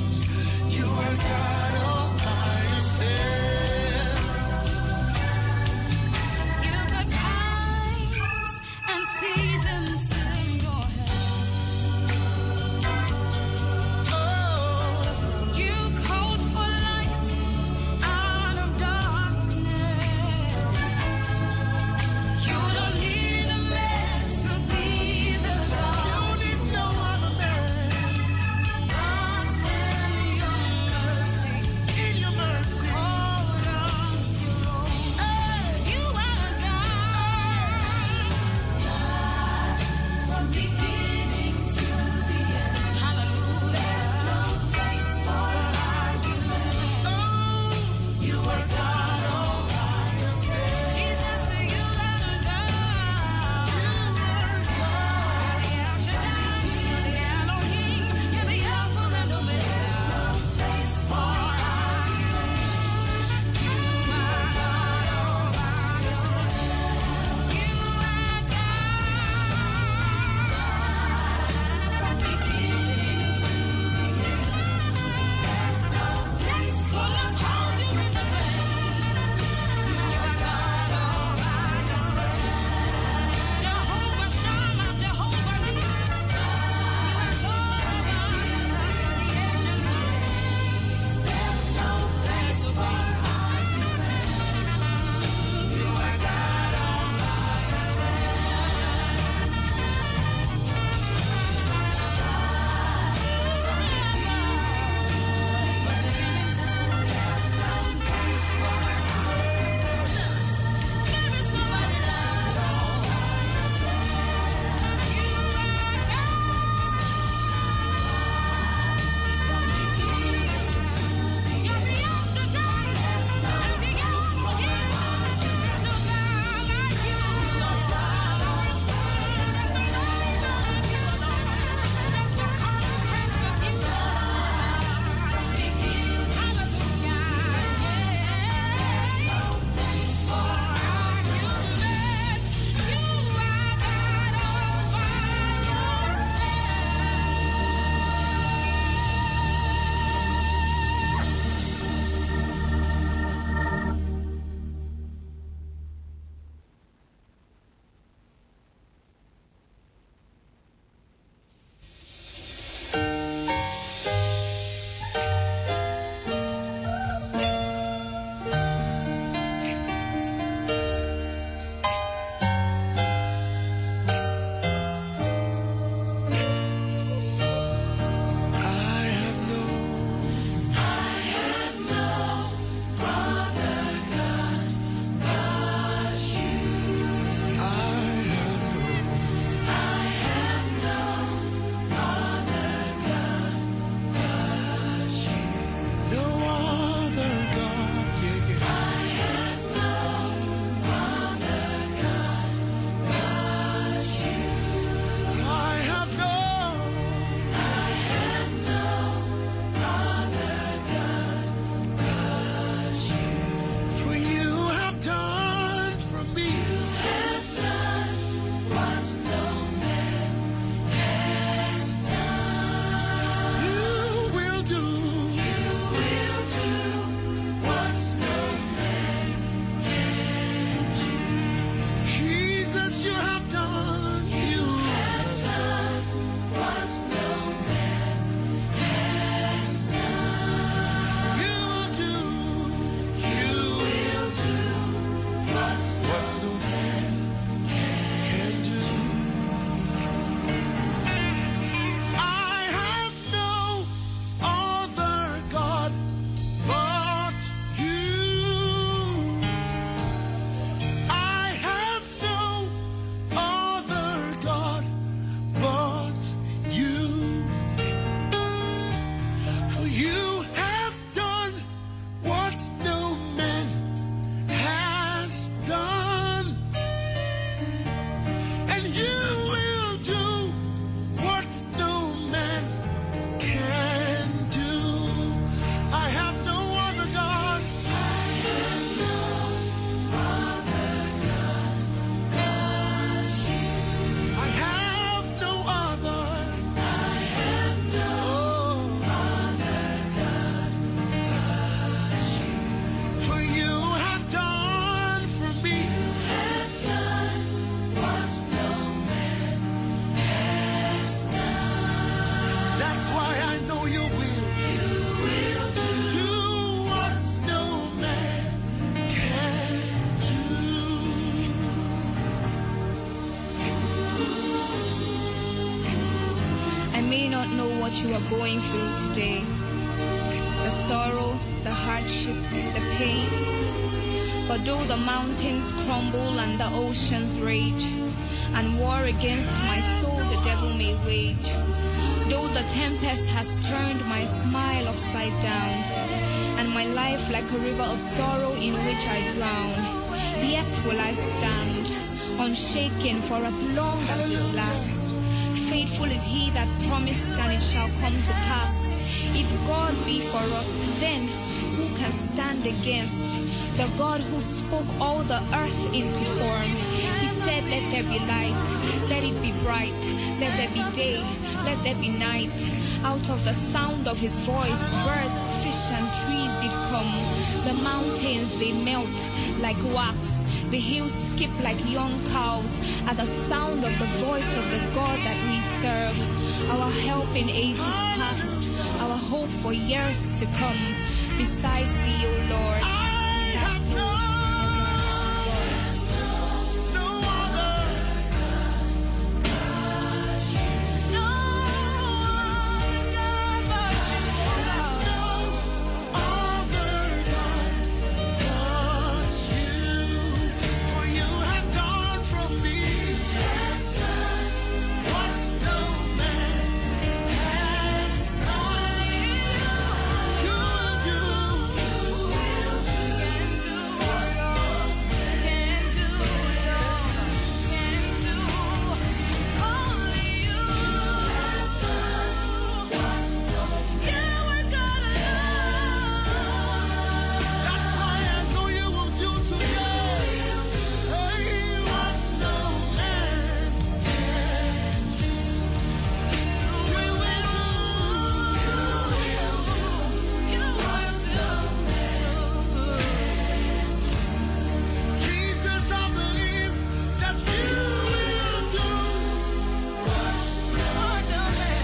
That's why I know you will. You will do what no man can do. I may not know what you are going through today. The sorrow, the hardship, the pain. But though the mountains crumble and the oceans rage, and war against my soul the devil may wage, though the tempest has turned my smile upside down, and my life like a river of sorrow in which I drown, yet will I stand, unshaken for as long as it lasts. Faithful is he that promised, and it shall come to pass. If God be for us, then who can stand against? The God who spoke all the earth into form. He said, let there be light, let it be bright, let there be day, let there be night. Out of the sound of his voice, birds, fish, and trees did come. The mountains, they melt like wax. The hills skip like young cows at the sound of the voice of the God that we serve. Our help in ages past, our hope for years to come. Besides thee, O Lord, we have no other. No other God but you. No other God but you. For you have done from me what no man has done. You will do. Jesus, I believe that you will do what no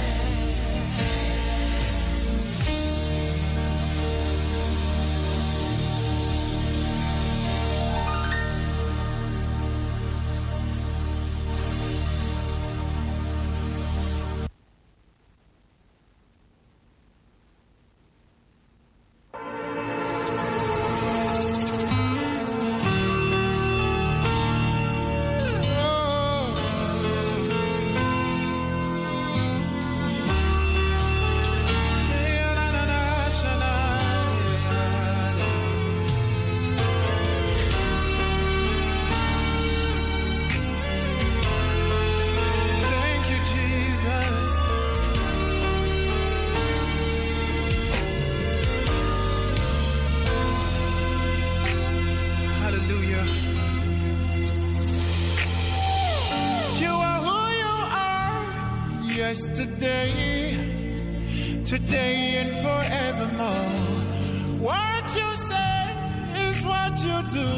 Thank you, Jesus. Hallelujah. You are who you are, yesterday, today, and forevermore. What you say is what you do.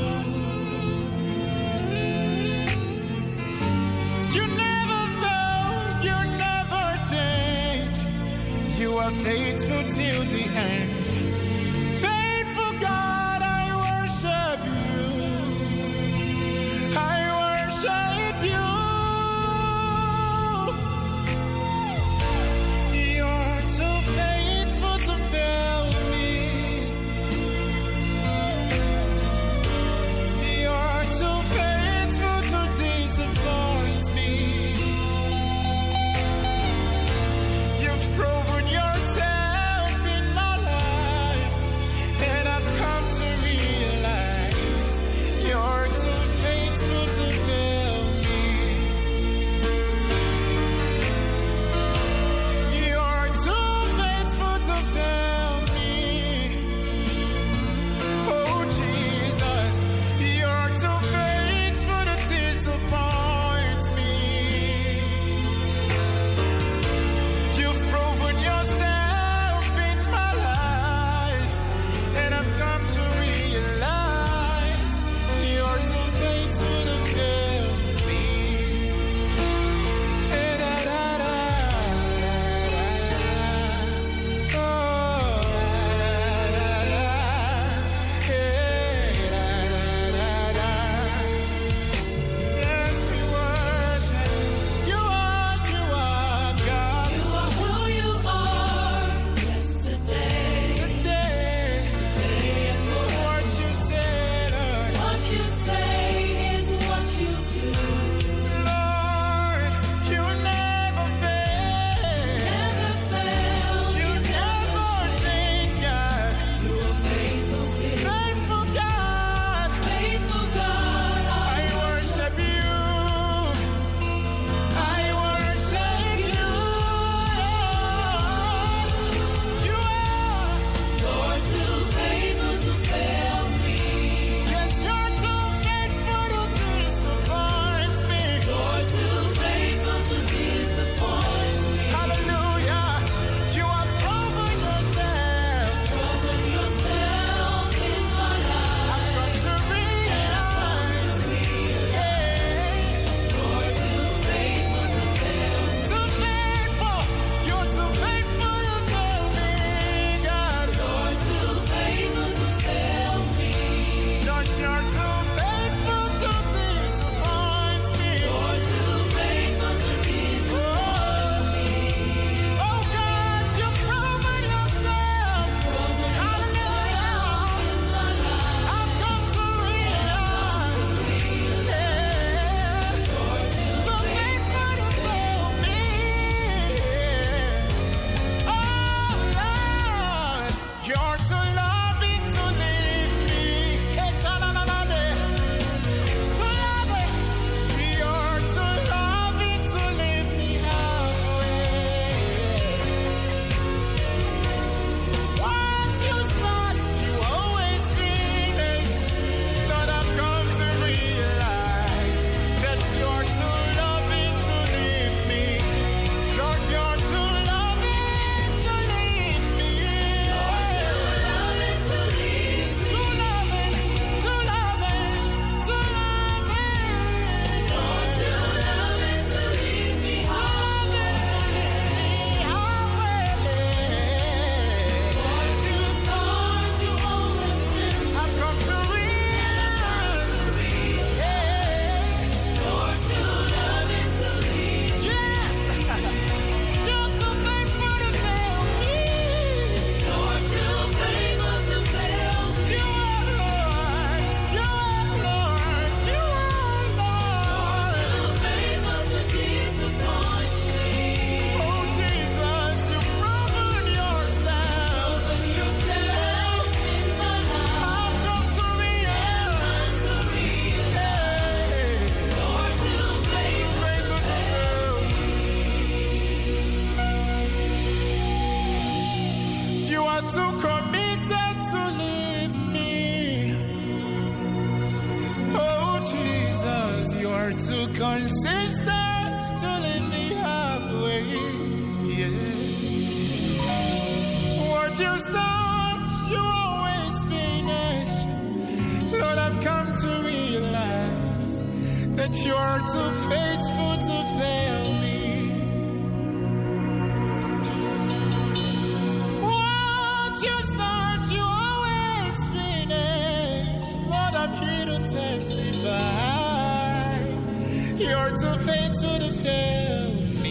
You never fail, you never change. You are faithful till the end. Faithful God, I worship you. I worship you. You're too faithful to fail me. You're too faithful to disappoint me. You've proven yourself in my life. are too committed to leave me. Oh Jesus, you are too consistent to leave me halfway. Yeah. What you start, you always finish. Lord, I've come to realize that you are too faithful to fail me. What you start, you always finish. Lord, I'm here to testify. You're too faithful to fail me.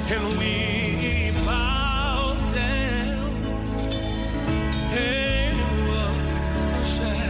and we bow down and worship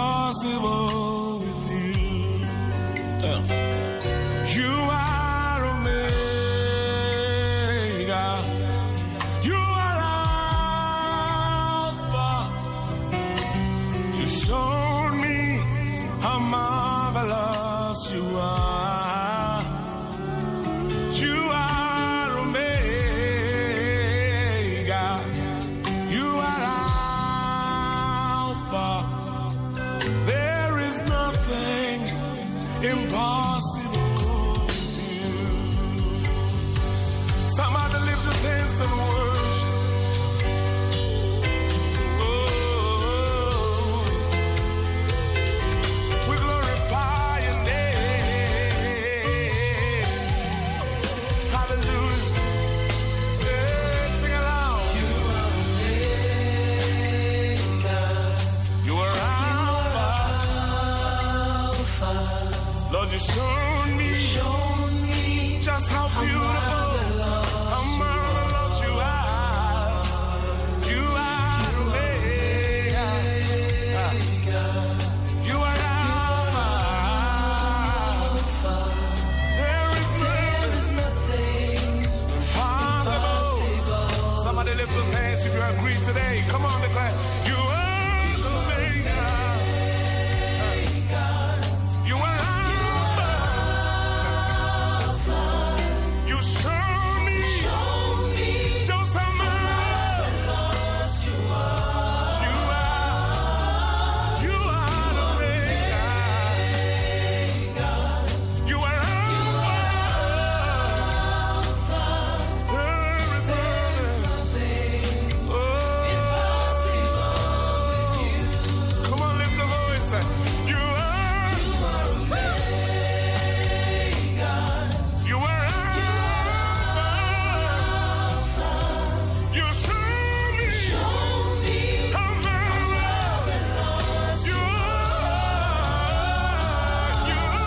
impossible with you. Uh, you are Omega. You are Alpha. You showed me how marvelous you are. You are Omega. You are Alpha. There is nothing impossible with you. Somebody lift the hands and worship. Oh, we glorify your name. Hallelujah. Yeah, sing aloud. You are Omega. You are Alpha. Lord, you showed me, just how beautiful, how marvelous you are. You are Omega. You are Alpha. There is nothing impossible. Somebody lift those hands if you agree today. Come on, declare. You are Omega. You are Alpha. You show me just how marvelous you are. You are, you are Omega. You are Alpha. There is nothing, oh, come on, lift the voice. You are, you are Alpha. You show me how marvelous you are. You are,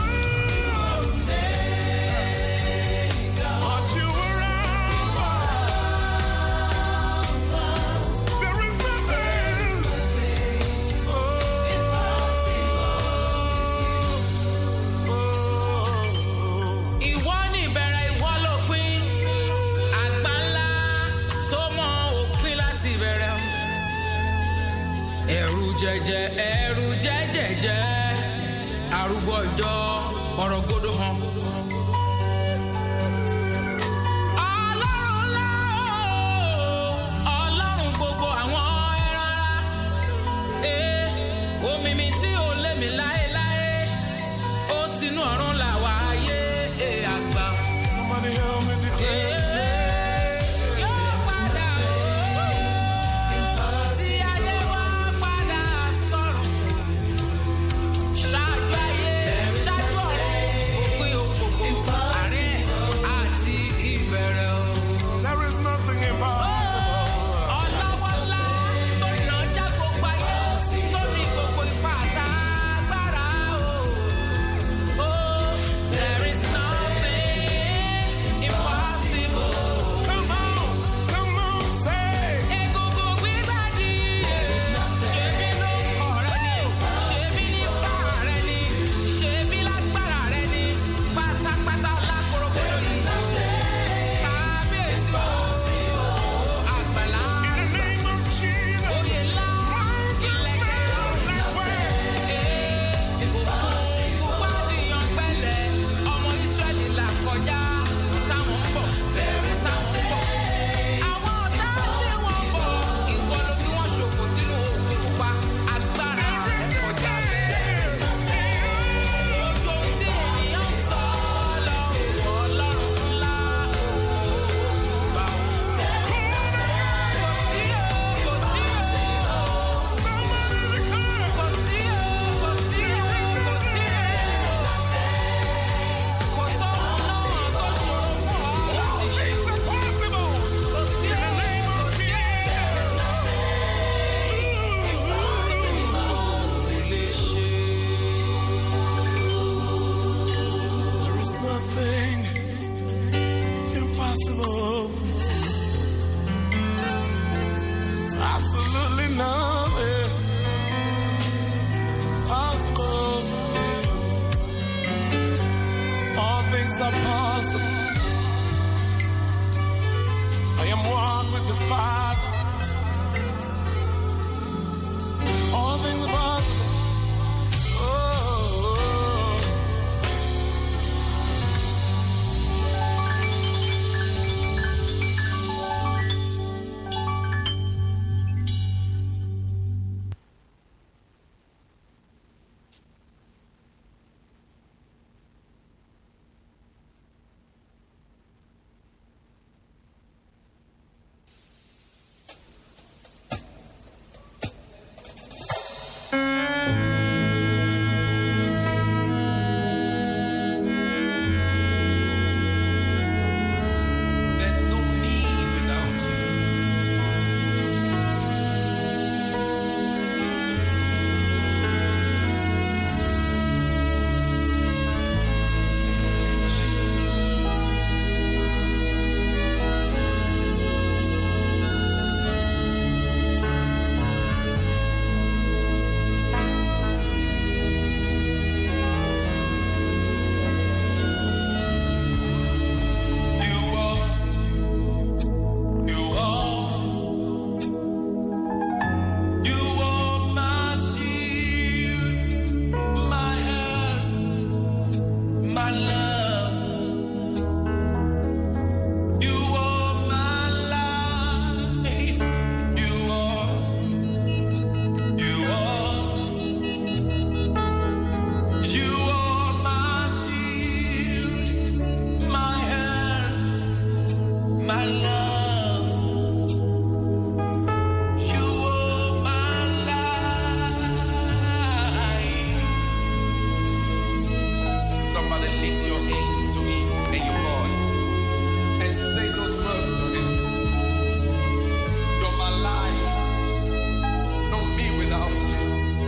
but you are Alpha. There is nothing, oh, Ìwọ ni ìbẹ̀rẹ̀, ìwọ lópin, àgbà ńlá tó mọ òpin láti ìbẹ̀rẹ̀. Ẹ̀rù jẹ̀jẹ̀, ẹ̀rù jẹ́jẹ̀jẹ̀, arúgbó ọjọ́, ọ̀rọ̀ gbọdọ̀ hàn. Ọlọ́run ńlá o, Ọlọ́run gbogbo àwọn ẹran ara. Eh, omi mi tí ò lé mi láéláé, ó tinú ọ̀run là wá ayé, eh, àgbà. somebody help me declare. Yóò padà o, tí ayé wá padà sọ̀rọ̀. Ṣáájú ayé, ṣáájú things are possible. I am one with the Father. All things are possible. Oh. There's no me without you. You are, you are, you are my shield, my help, my love. You are my life. You are, you are, you are my shield, my help, my love. You are my life. Somebody lift your hands to him and your voice and say those words to him. You're my life. No me without you.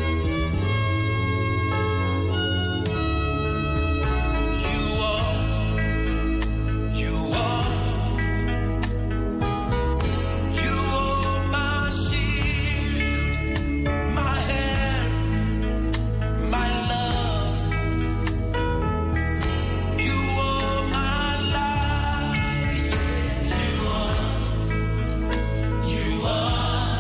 You are, you are, you are my shield, my help, my love. You are my life. You are, you are,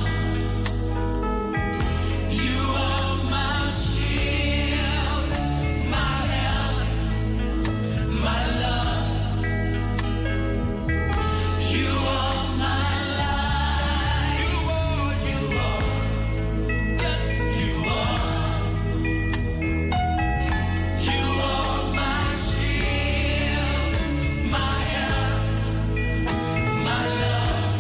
you are my shield, my help, my love. You are my life. You are, you are, yes, you are. You are my shield, my help, my love.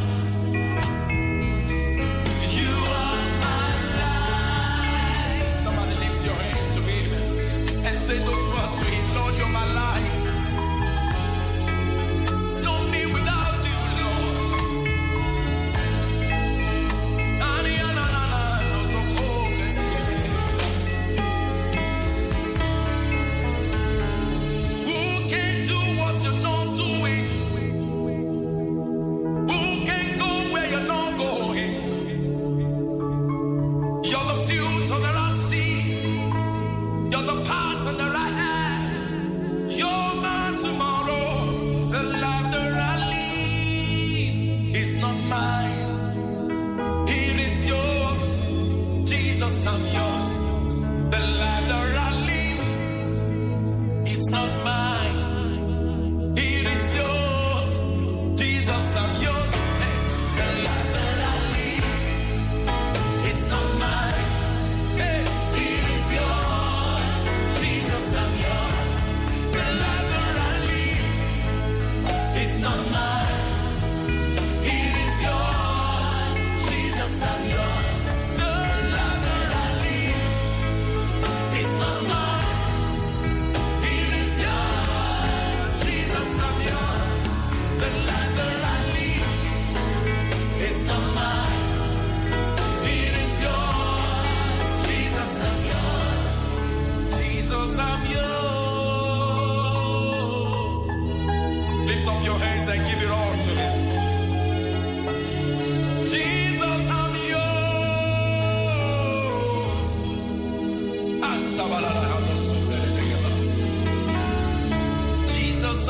You are my life. Somebody lift your hands to him and say those words to him. Lord, you're my life. No me without you, Lord. Na, na, na, na, na, no, so cold, let's hear it. Who can do what you're not doing? Who can go where you're not going? You're the future that I see. You're the past that I have. You're my tomorrow. The life that I live is not mine. It is yours. Jesus, I'm yours. The life that I live is not mine. It is yours. Jesus, I'm yours. Hey, the life that I live is not mine. Hey, it is yours. Jesus, I'm yours. The life that I live is not mine. It is yours. Jesus, I'm yours. The life that I live is not mine. It is yours. Jesus, I'm yours. The life that I live is not mine. It is yours. Jesus, I'm yours. Jesus, I'm yours. Lift up your hands and give it all to him. Jesus, I'm yours. Ah, shabalala, Jesus,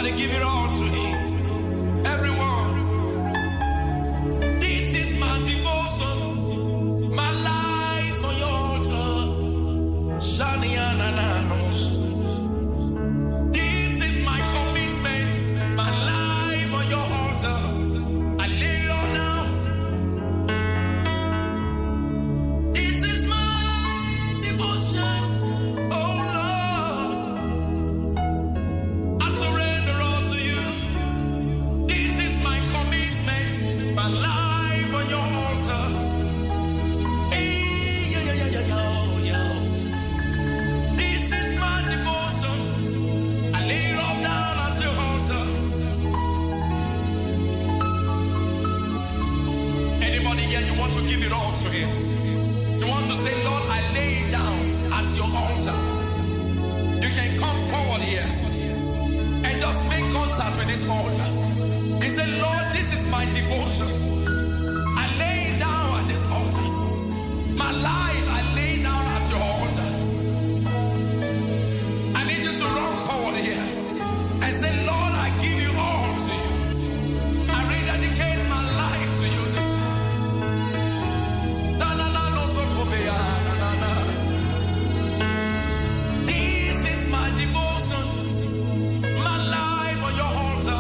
Somebody give it all to him. Everyone. This is my devotion. My life on your altar. Shanianananos. This is my commitment. My life on your altar. I lay it all down. This is my devotion. Oh Lord. I surrender all to you. This is my commitment. My life on your altar. Hey, yo, yo, yo, yo, yo, yo. This is my devotion. I lay it all down at your altar. Anybody here, you want to give it all to him? You want to say, Lord, I lay it down at your altar. You can come forward here and just make contact with this altar. He said, Lord, this is my devotion. I lay it down at this altar. My life, I lay down at your altar. I need you to run forward here and say, Lord, I give you all to you. I rededicate my life to you this This is my devotion. My life on your altar.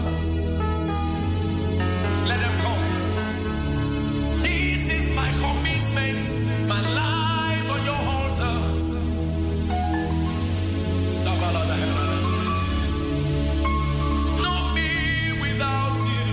Let them come. This is my commitment. My life on your altar. No me without you.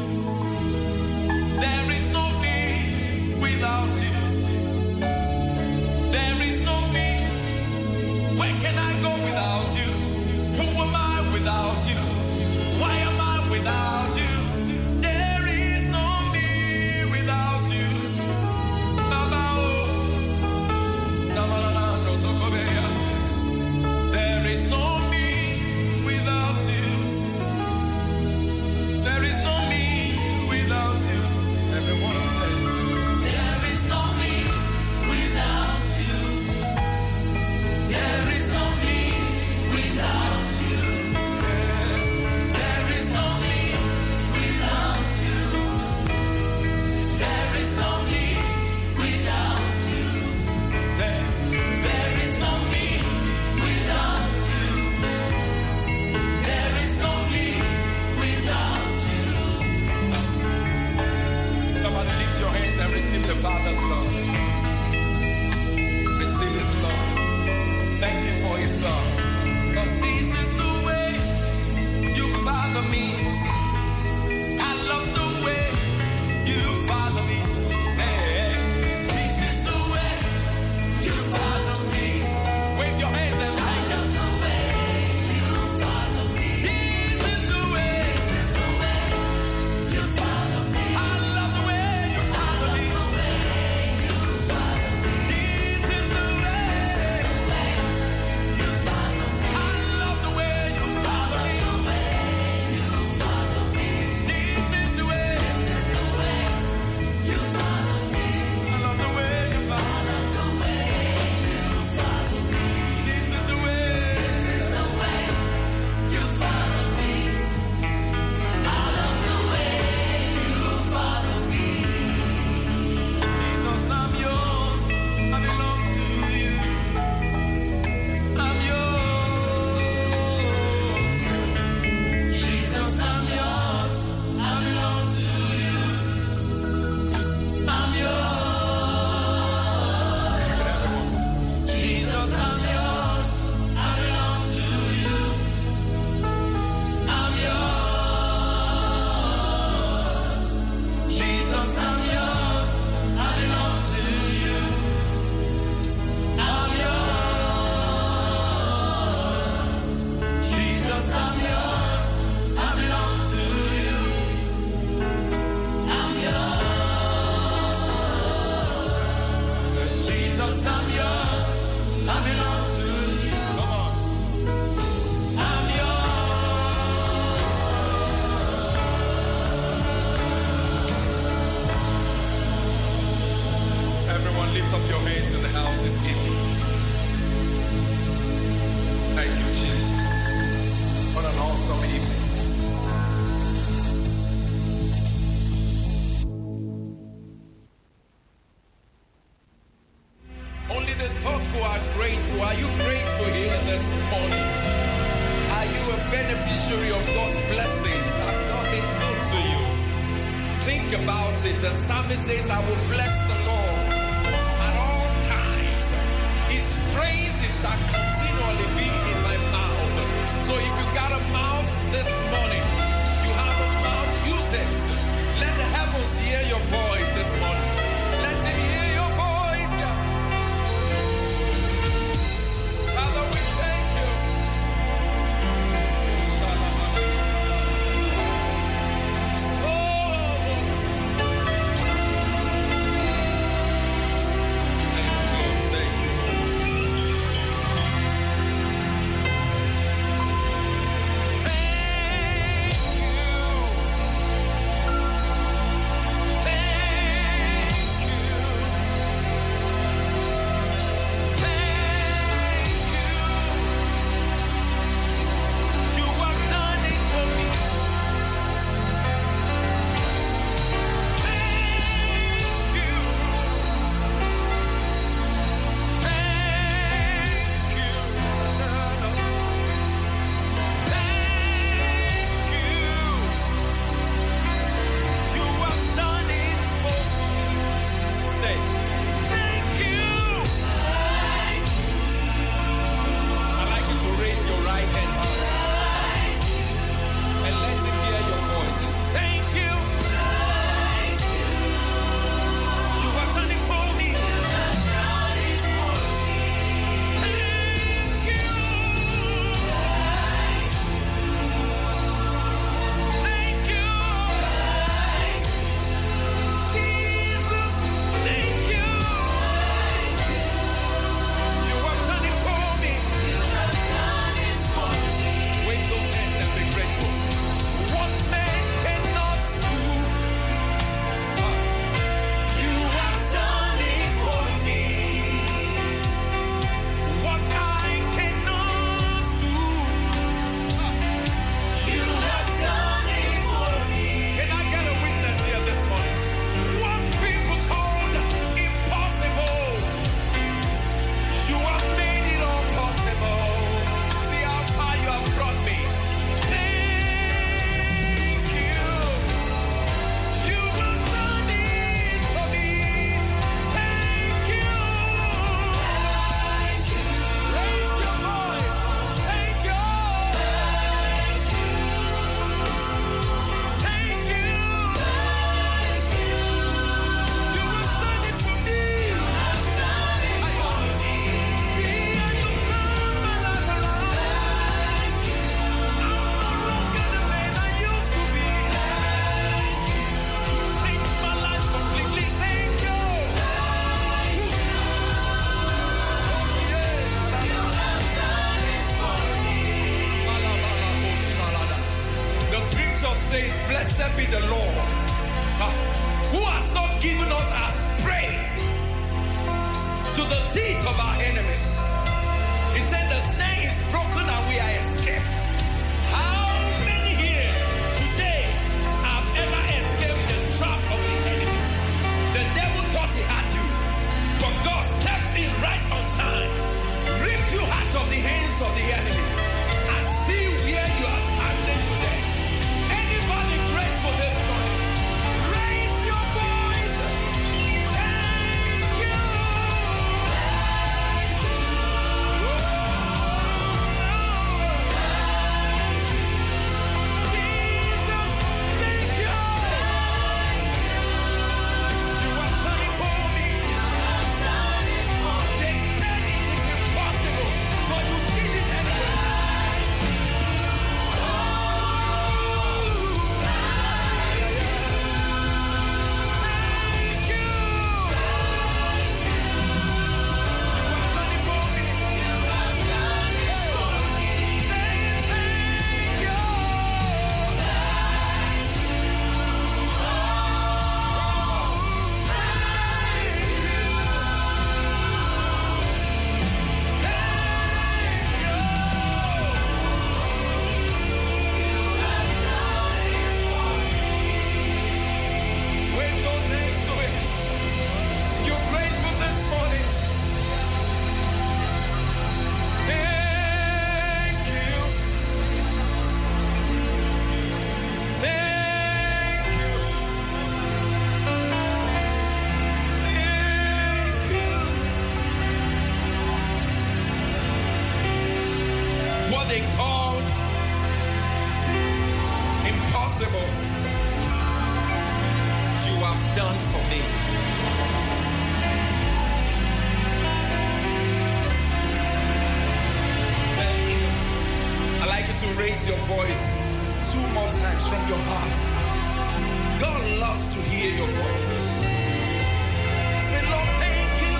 There is no me without you. There is no me. Where can I go without you? Who am I without you? Why am I without you? There is no me without you. Baba, oh. Namalala, no sokobeya. There is no me without you. There is no me without you. Everyone say, there is no me without you. There is no me without you. There is no me without you. There is no me without you. There is no me without you. There is no me without you. Somebody lift your hands and receive the Father's love. Receive His love. Thank Him for His love. Because this is the way you father me. I love the way you father me. Say, this is the way you father me. Wave your hands and I love the way you father me. This is the way. This is the way you father me. I love the way you father me. This is the way. I love the way you father me. This is the way. This is the way you father me. I love the way you father me. This is the way. This is the way you father me. I love the way you father me. Jesus, I'm yours. I belong to you. I'm yours. Jesus, I'm yours. I belong to you. I'm yours. Jesus, I'm yours. I belong to you. I'm yours. Jesus, I'm yours. I belong to you. I'm yours. Jesus, I'm yours. I belong to you. I'm yours. Jesus, I'm yours. I belong to people are grateful. Are you grateful here this morning? Are you a beneficiary of God's blessings? Have God been good to you? Think about it. The psalmist says, I will bless the Lord at all times. His praises shall continually be in my mouth. So if you got a mouth this morning, you have a mouth, use it. Let the heavens hear your voice this morning. Let him hear your voice. Father, we thank you. Says, blessed be the Lord, uh, who has not given us as prey to the teeth of our enemies. He said the snare is broken and we are escaped. How many here today have ever escaped the trap of the enemy? The devil thought he had you, but God stepped in right on time, ripped you out of the hands of the enemy, and see where you are standing today. Anybody grateful this morning? Raise your voice. Thank you. done for me. Thank you. I'd like you to raise your voice two more times from your heart. God loves to hear your voice. Say, Lord, thank you.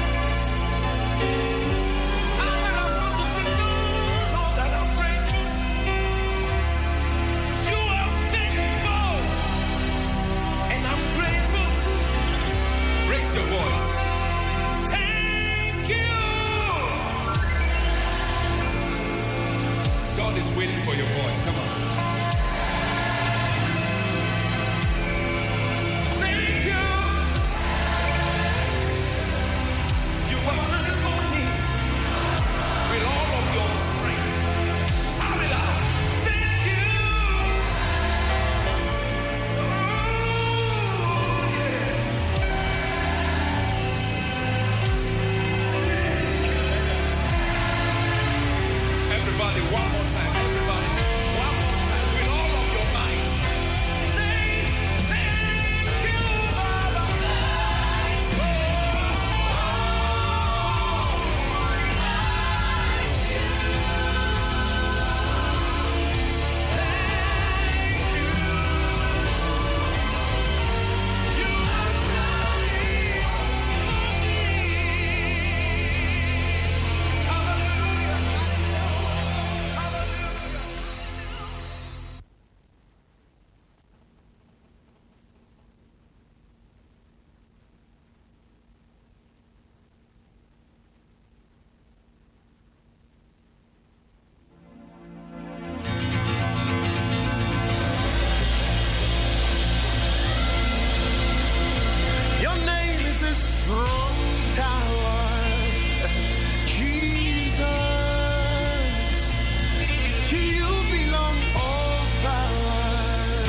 Father, I want you to know, Lord, that I'm grateful. You are faithful, and I'm grateful. Raise your voice. Thank you. God is waiting for your voice. Come on. Thank you. You are turning for me with all of your strength. Shout it out. Thank you. Oh, yeah. Everybody, one more time. Everybody, one more time with all of your might. Say, thank you, Baba. Your name is a strong tower, Jesus. To you belong all power,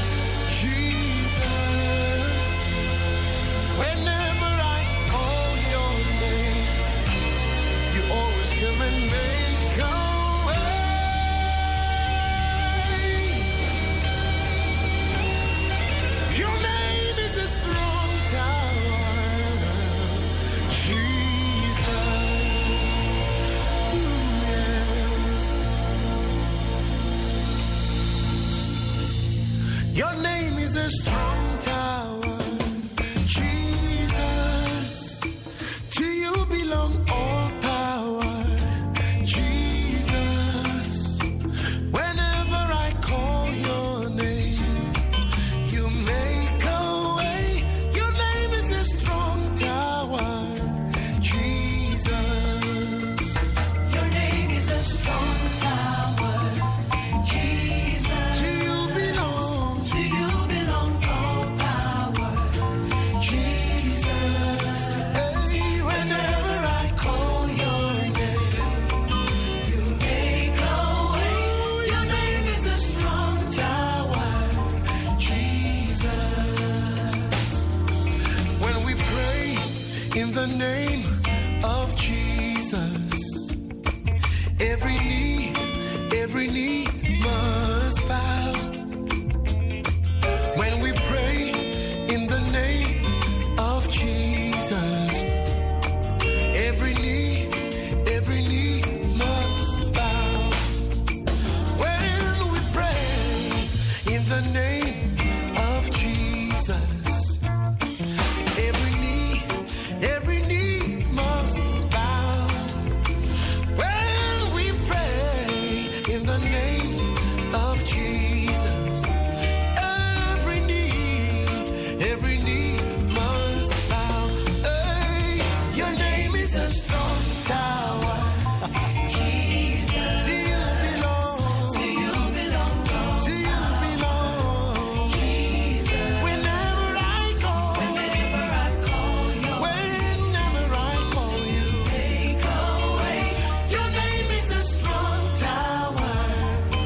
Jesus. Whenever I call your name, you always come and make a way. Your name is a strong tower, Jesus. Ooh, yeah. Your name is a strong tower, Jesus. To you belong all power, Jesus. Whenever I call your name, you make a way. Your name is a strong tower, Jesus. Your name is a strong tower, Jesus. To you belong, To you belong all power, Jesus. Hey, whenever I call your name, you make a way. Your name is a strong tower, Jesus. When we pray in the name of Jesus, every knee, every knee must bow. When we pray in the name of Jesus, every knee, every knee must bow. When we pray in the name of Jesus, every knee, every knee must bow. When we pray in the name of Jesus, every knee, every knee must bow. Hey, your name is a strong tower, Jesus. to you belong, To you belong all to you belong. Jesus. Whenever I call, Whenever I call your whenever I call you, make a way. your name is a strong tower,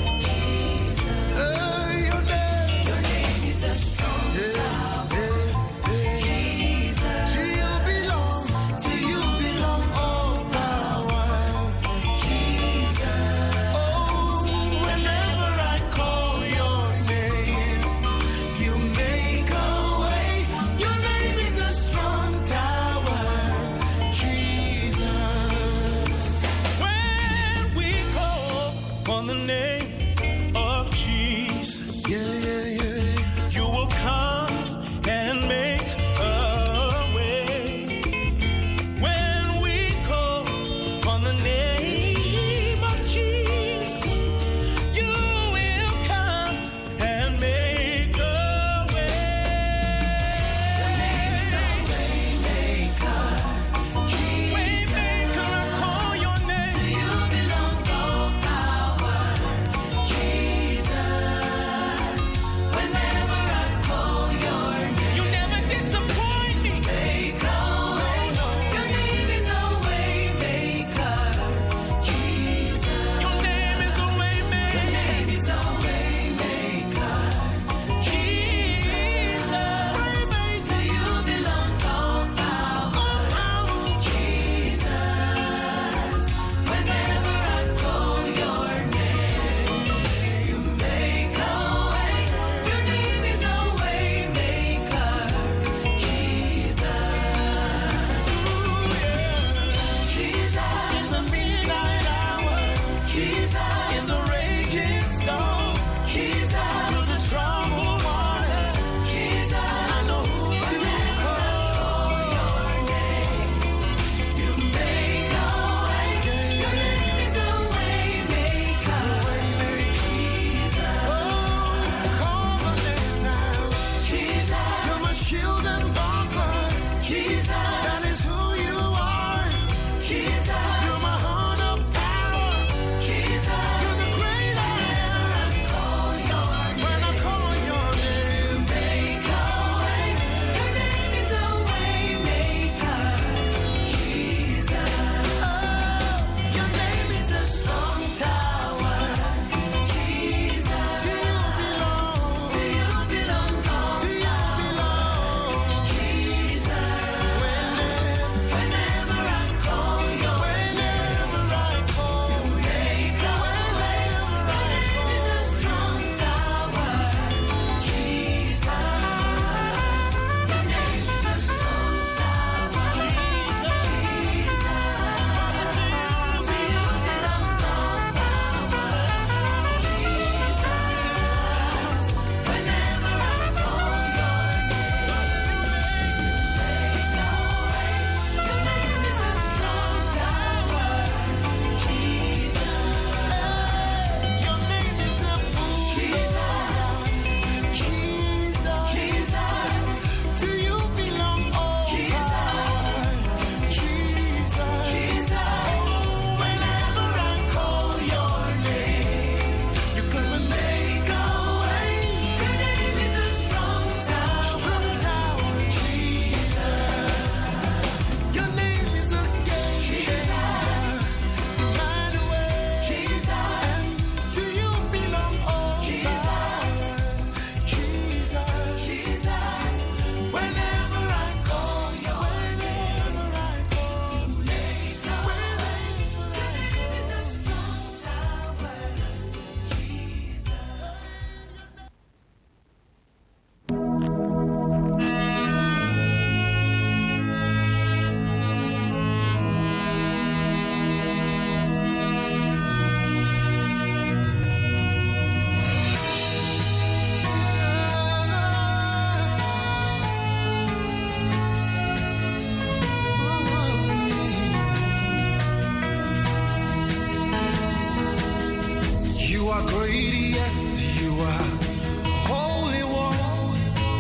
are great, yes, you are holy one.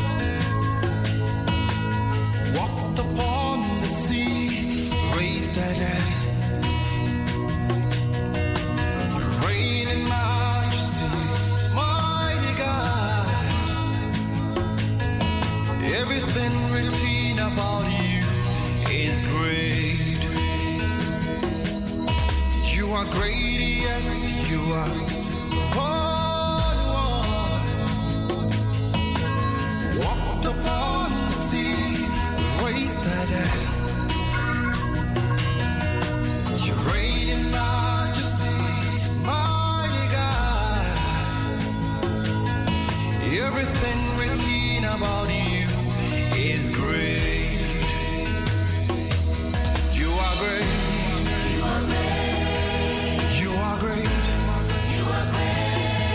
Walked upon the sea, raised the dead. You reign in majesty, mighty God. Everything written about you is great. You are great, yes, you are holy one. Walked upon the sea, raised the dead. You reign in majesty, mighty God. Everything written about you is great. You are great. You are great. You are great. You are great.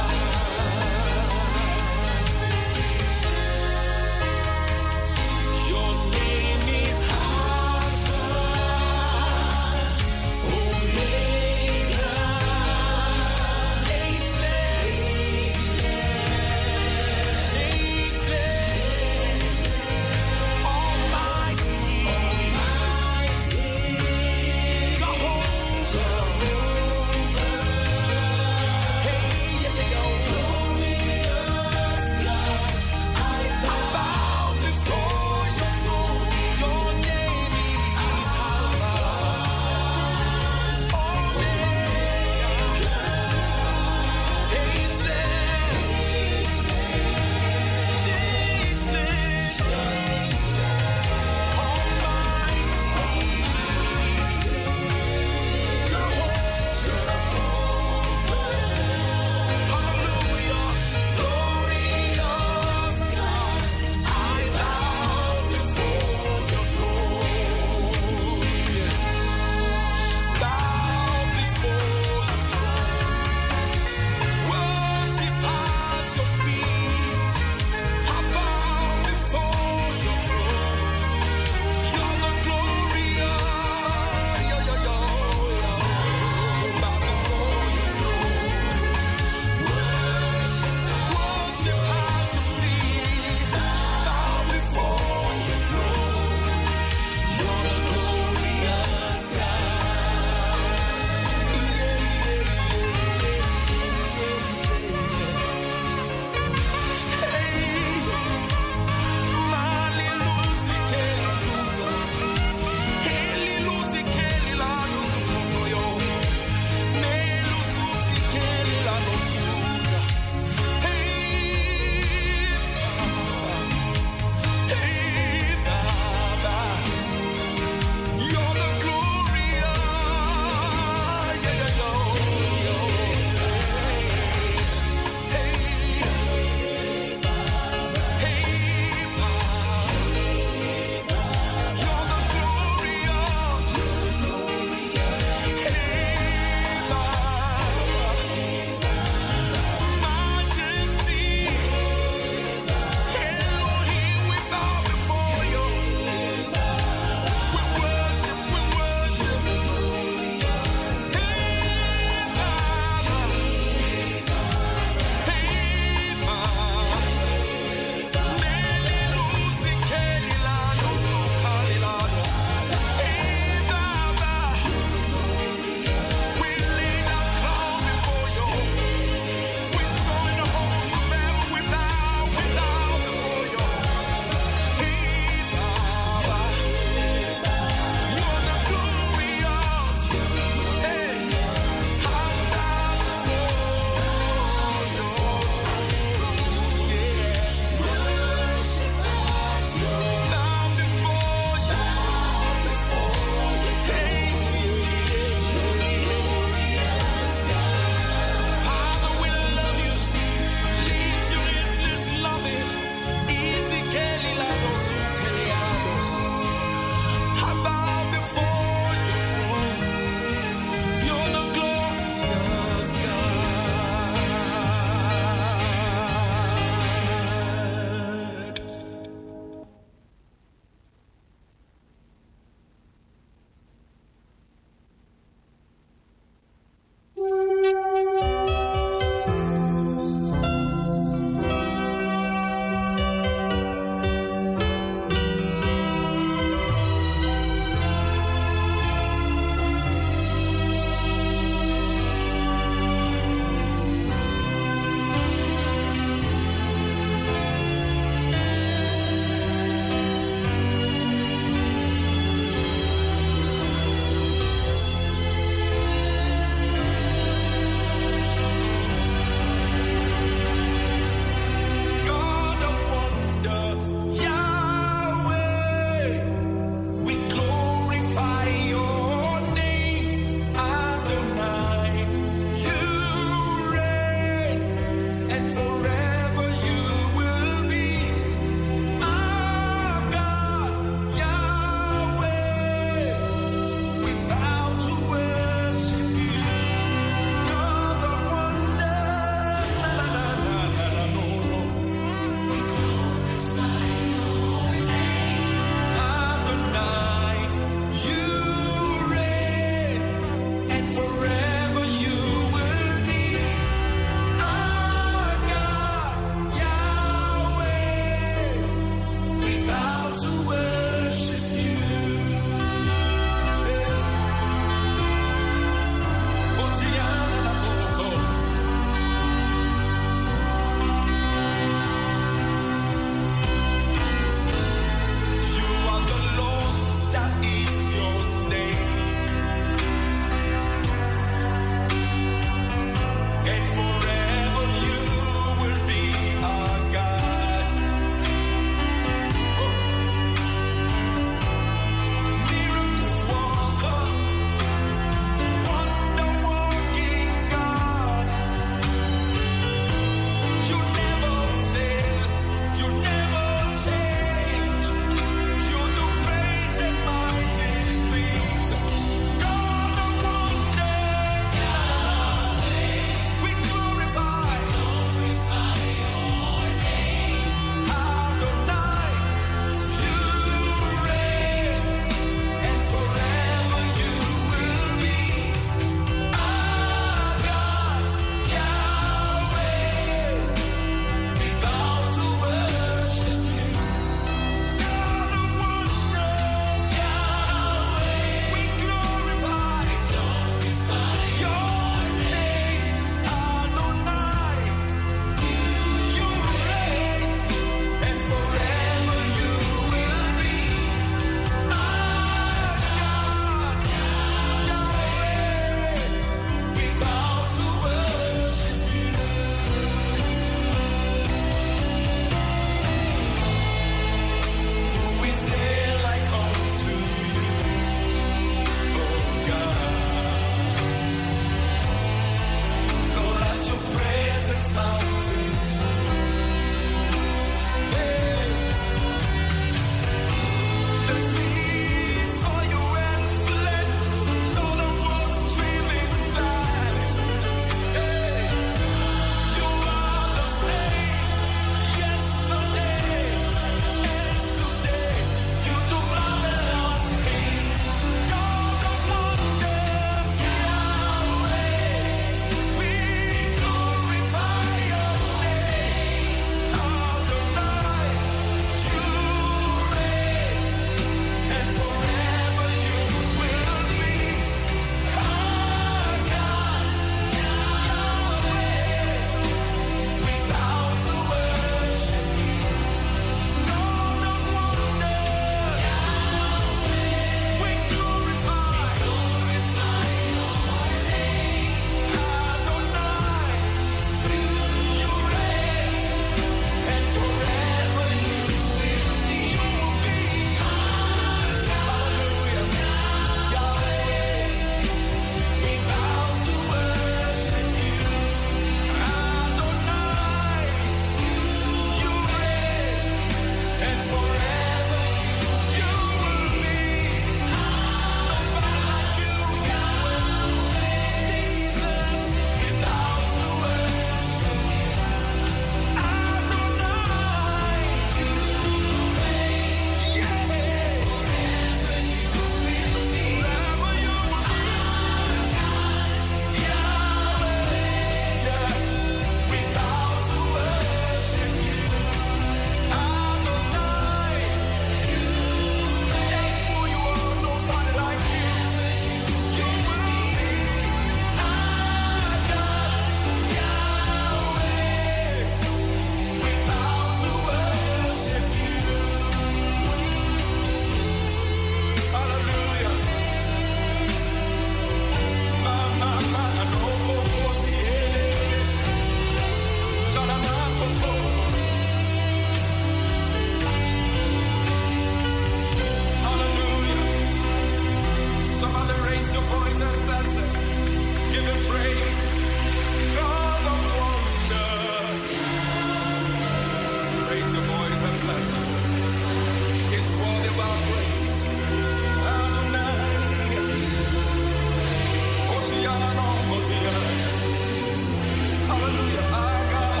hallelujah, our God.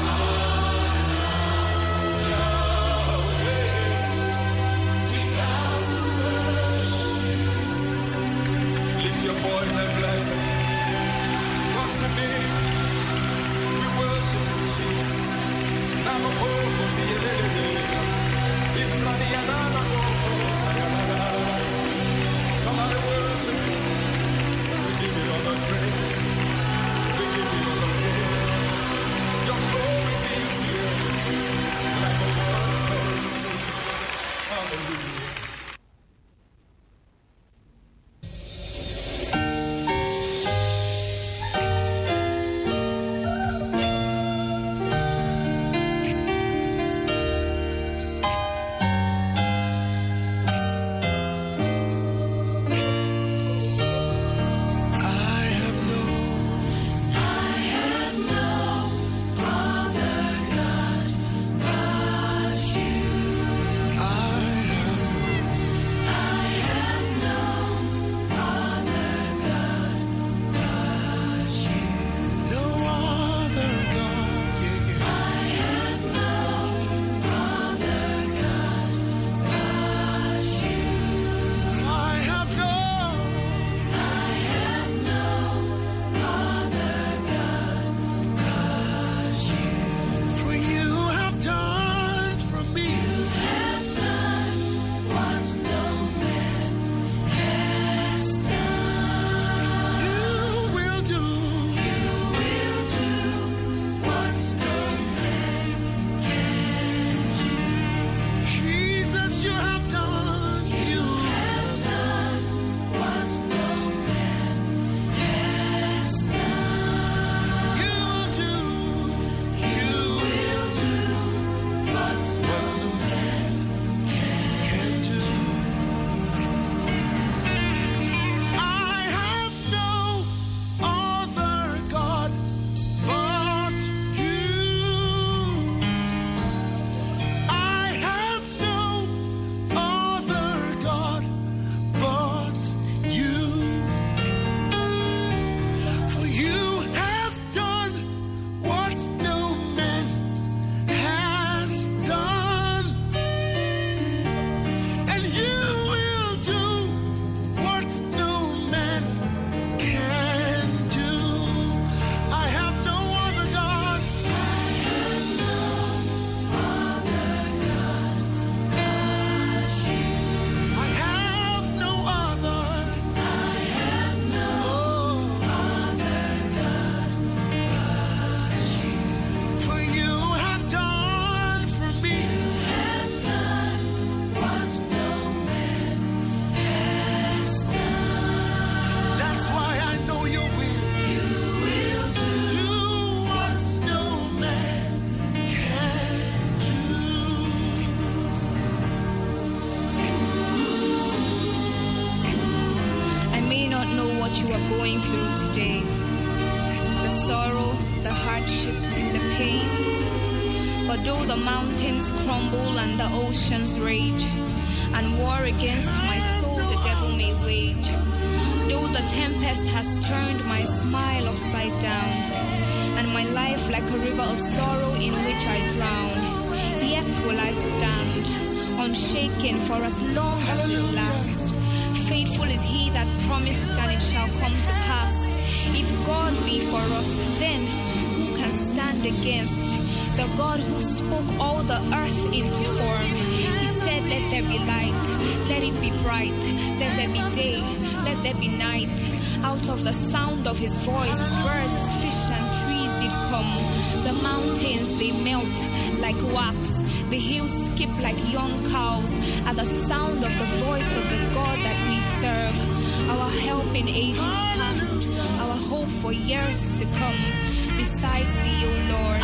We bow to worship. Lift your voice and bless him. Worship him. We worship you, Jesus. Namapoko tiyelele. Ifrani yanana koko sayalala. Somebody worship him. We give you all the praise. We give you all the glory. Your glory fills the earth like a waterfall. Hallelujah. what you are going through today. The sorrow, the hardship, the pain. But though the mountains crumble and the oceans rage, and war against my soul the devil may wage, though the tempest has turned my smile upside down, and my life like a river of sorrow in which I drown, yet will I stand, unshaken for as long as it lasts. Faithful is he that promised, and it shall come to pass. If God be for us, then who can stand against? The God who spoke all the earth into form. He said, let there be light, let it be bright, let there be day, let there be night. Out of the sound of his voice, birds, fish, and trees did come. The mountains, they melt like wax. The hills skip like young cows at the sound of the voice of the God that we serve. Our help in ages past, our hope for years to come. Besides thee, O Lord,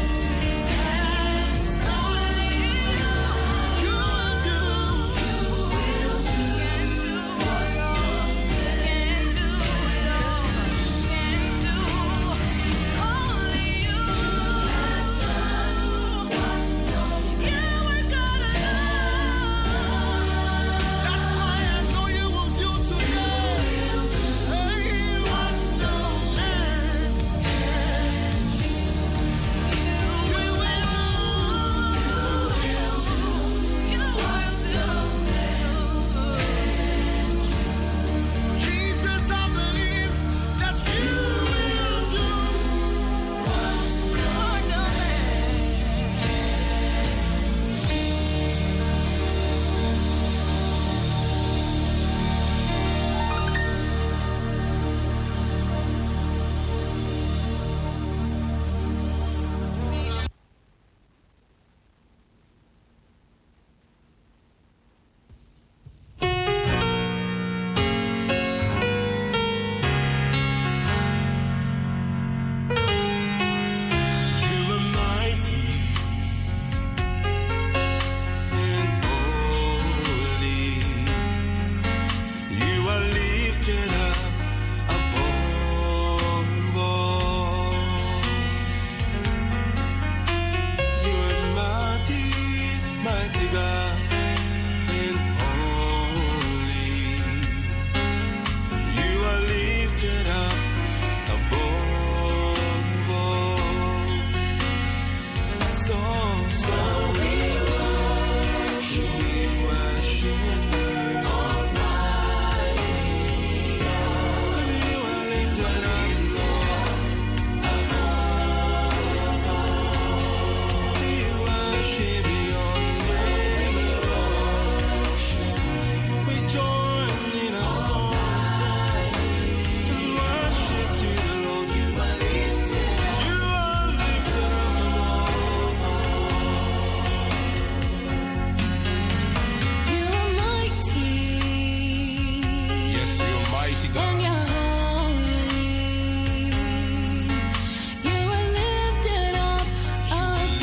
You will do and you're holy. You were lifted up above.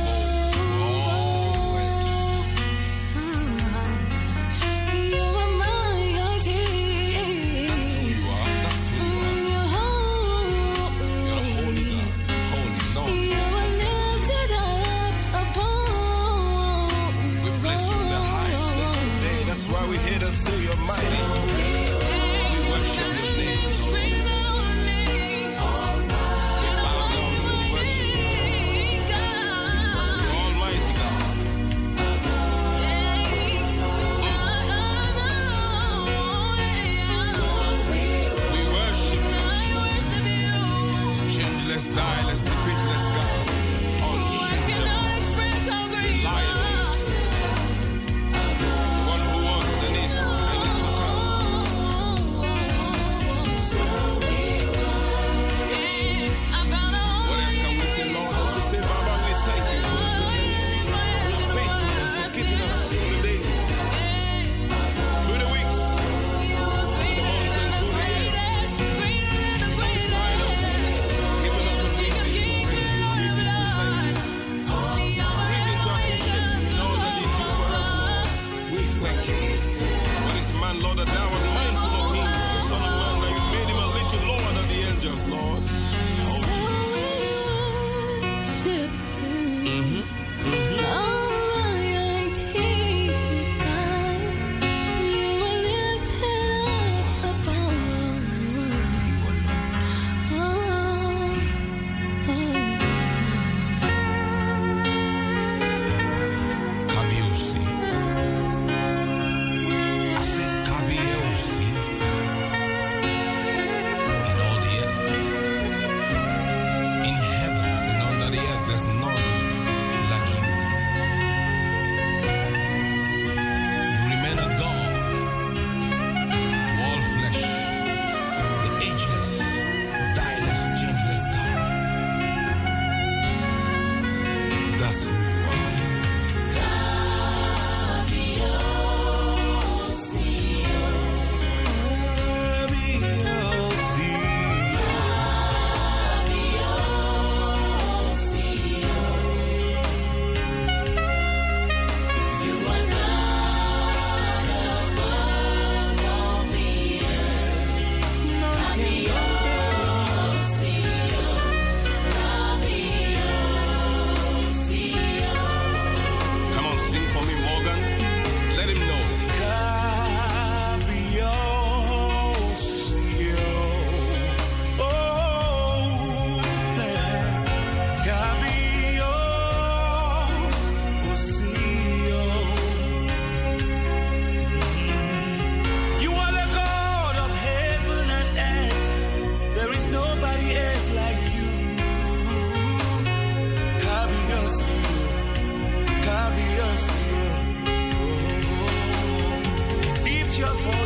You are mighty. That's who you are. That's who you are. You're holy. You're a holy God. Holy Lord. You were lifted up above. We bless you in the highest place today. That's why we're here to say you're mighty. We worship your name, Lord. We bow down and we worship you. You're Almighty God. We worship you. Changeless, direless, defeatless God. Unchangeable, reliable. The one who was and is and is to come. What else can we say, Lord? Than to say, Baba, we thank you for your goodness, your faithfulness, for keeping us through the days, through the weeks, through the months, and through the years. You multiplied us, giving us a reason to praise you, a reason to thank you, a reason to appreciate you in all that you do for us, Lord. We thank you. What is man, Lord, that thou art mindful of him, the Son of Man, that you made him a little lower than the angels, Lord. Oh, Worship you. Mhm. Almighty God, you were lifted up above. Kabiosi. I said Kabiosi. In all the earth, in heavens and under the earth, there's none like you. You remain a God to all flesh, the ageless, direless, changeless God. That's who you are. Come on, sing for me, Morgan. Let him know. You are the God of heaven and earth. There is nobody else like you. Kabiyasi, Kabiyasi. Lift your voice.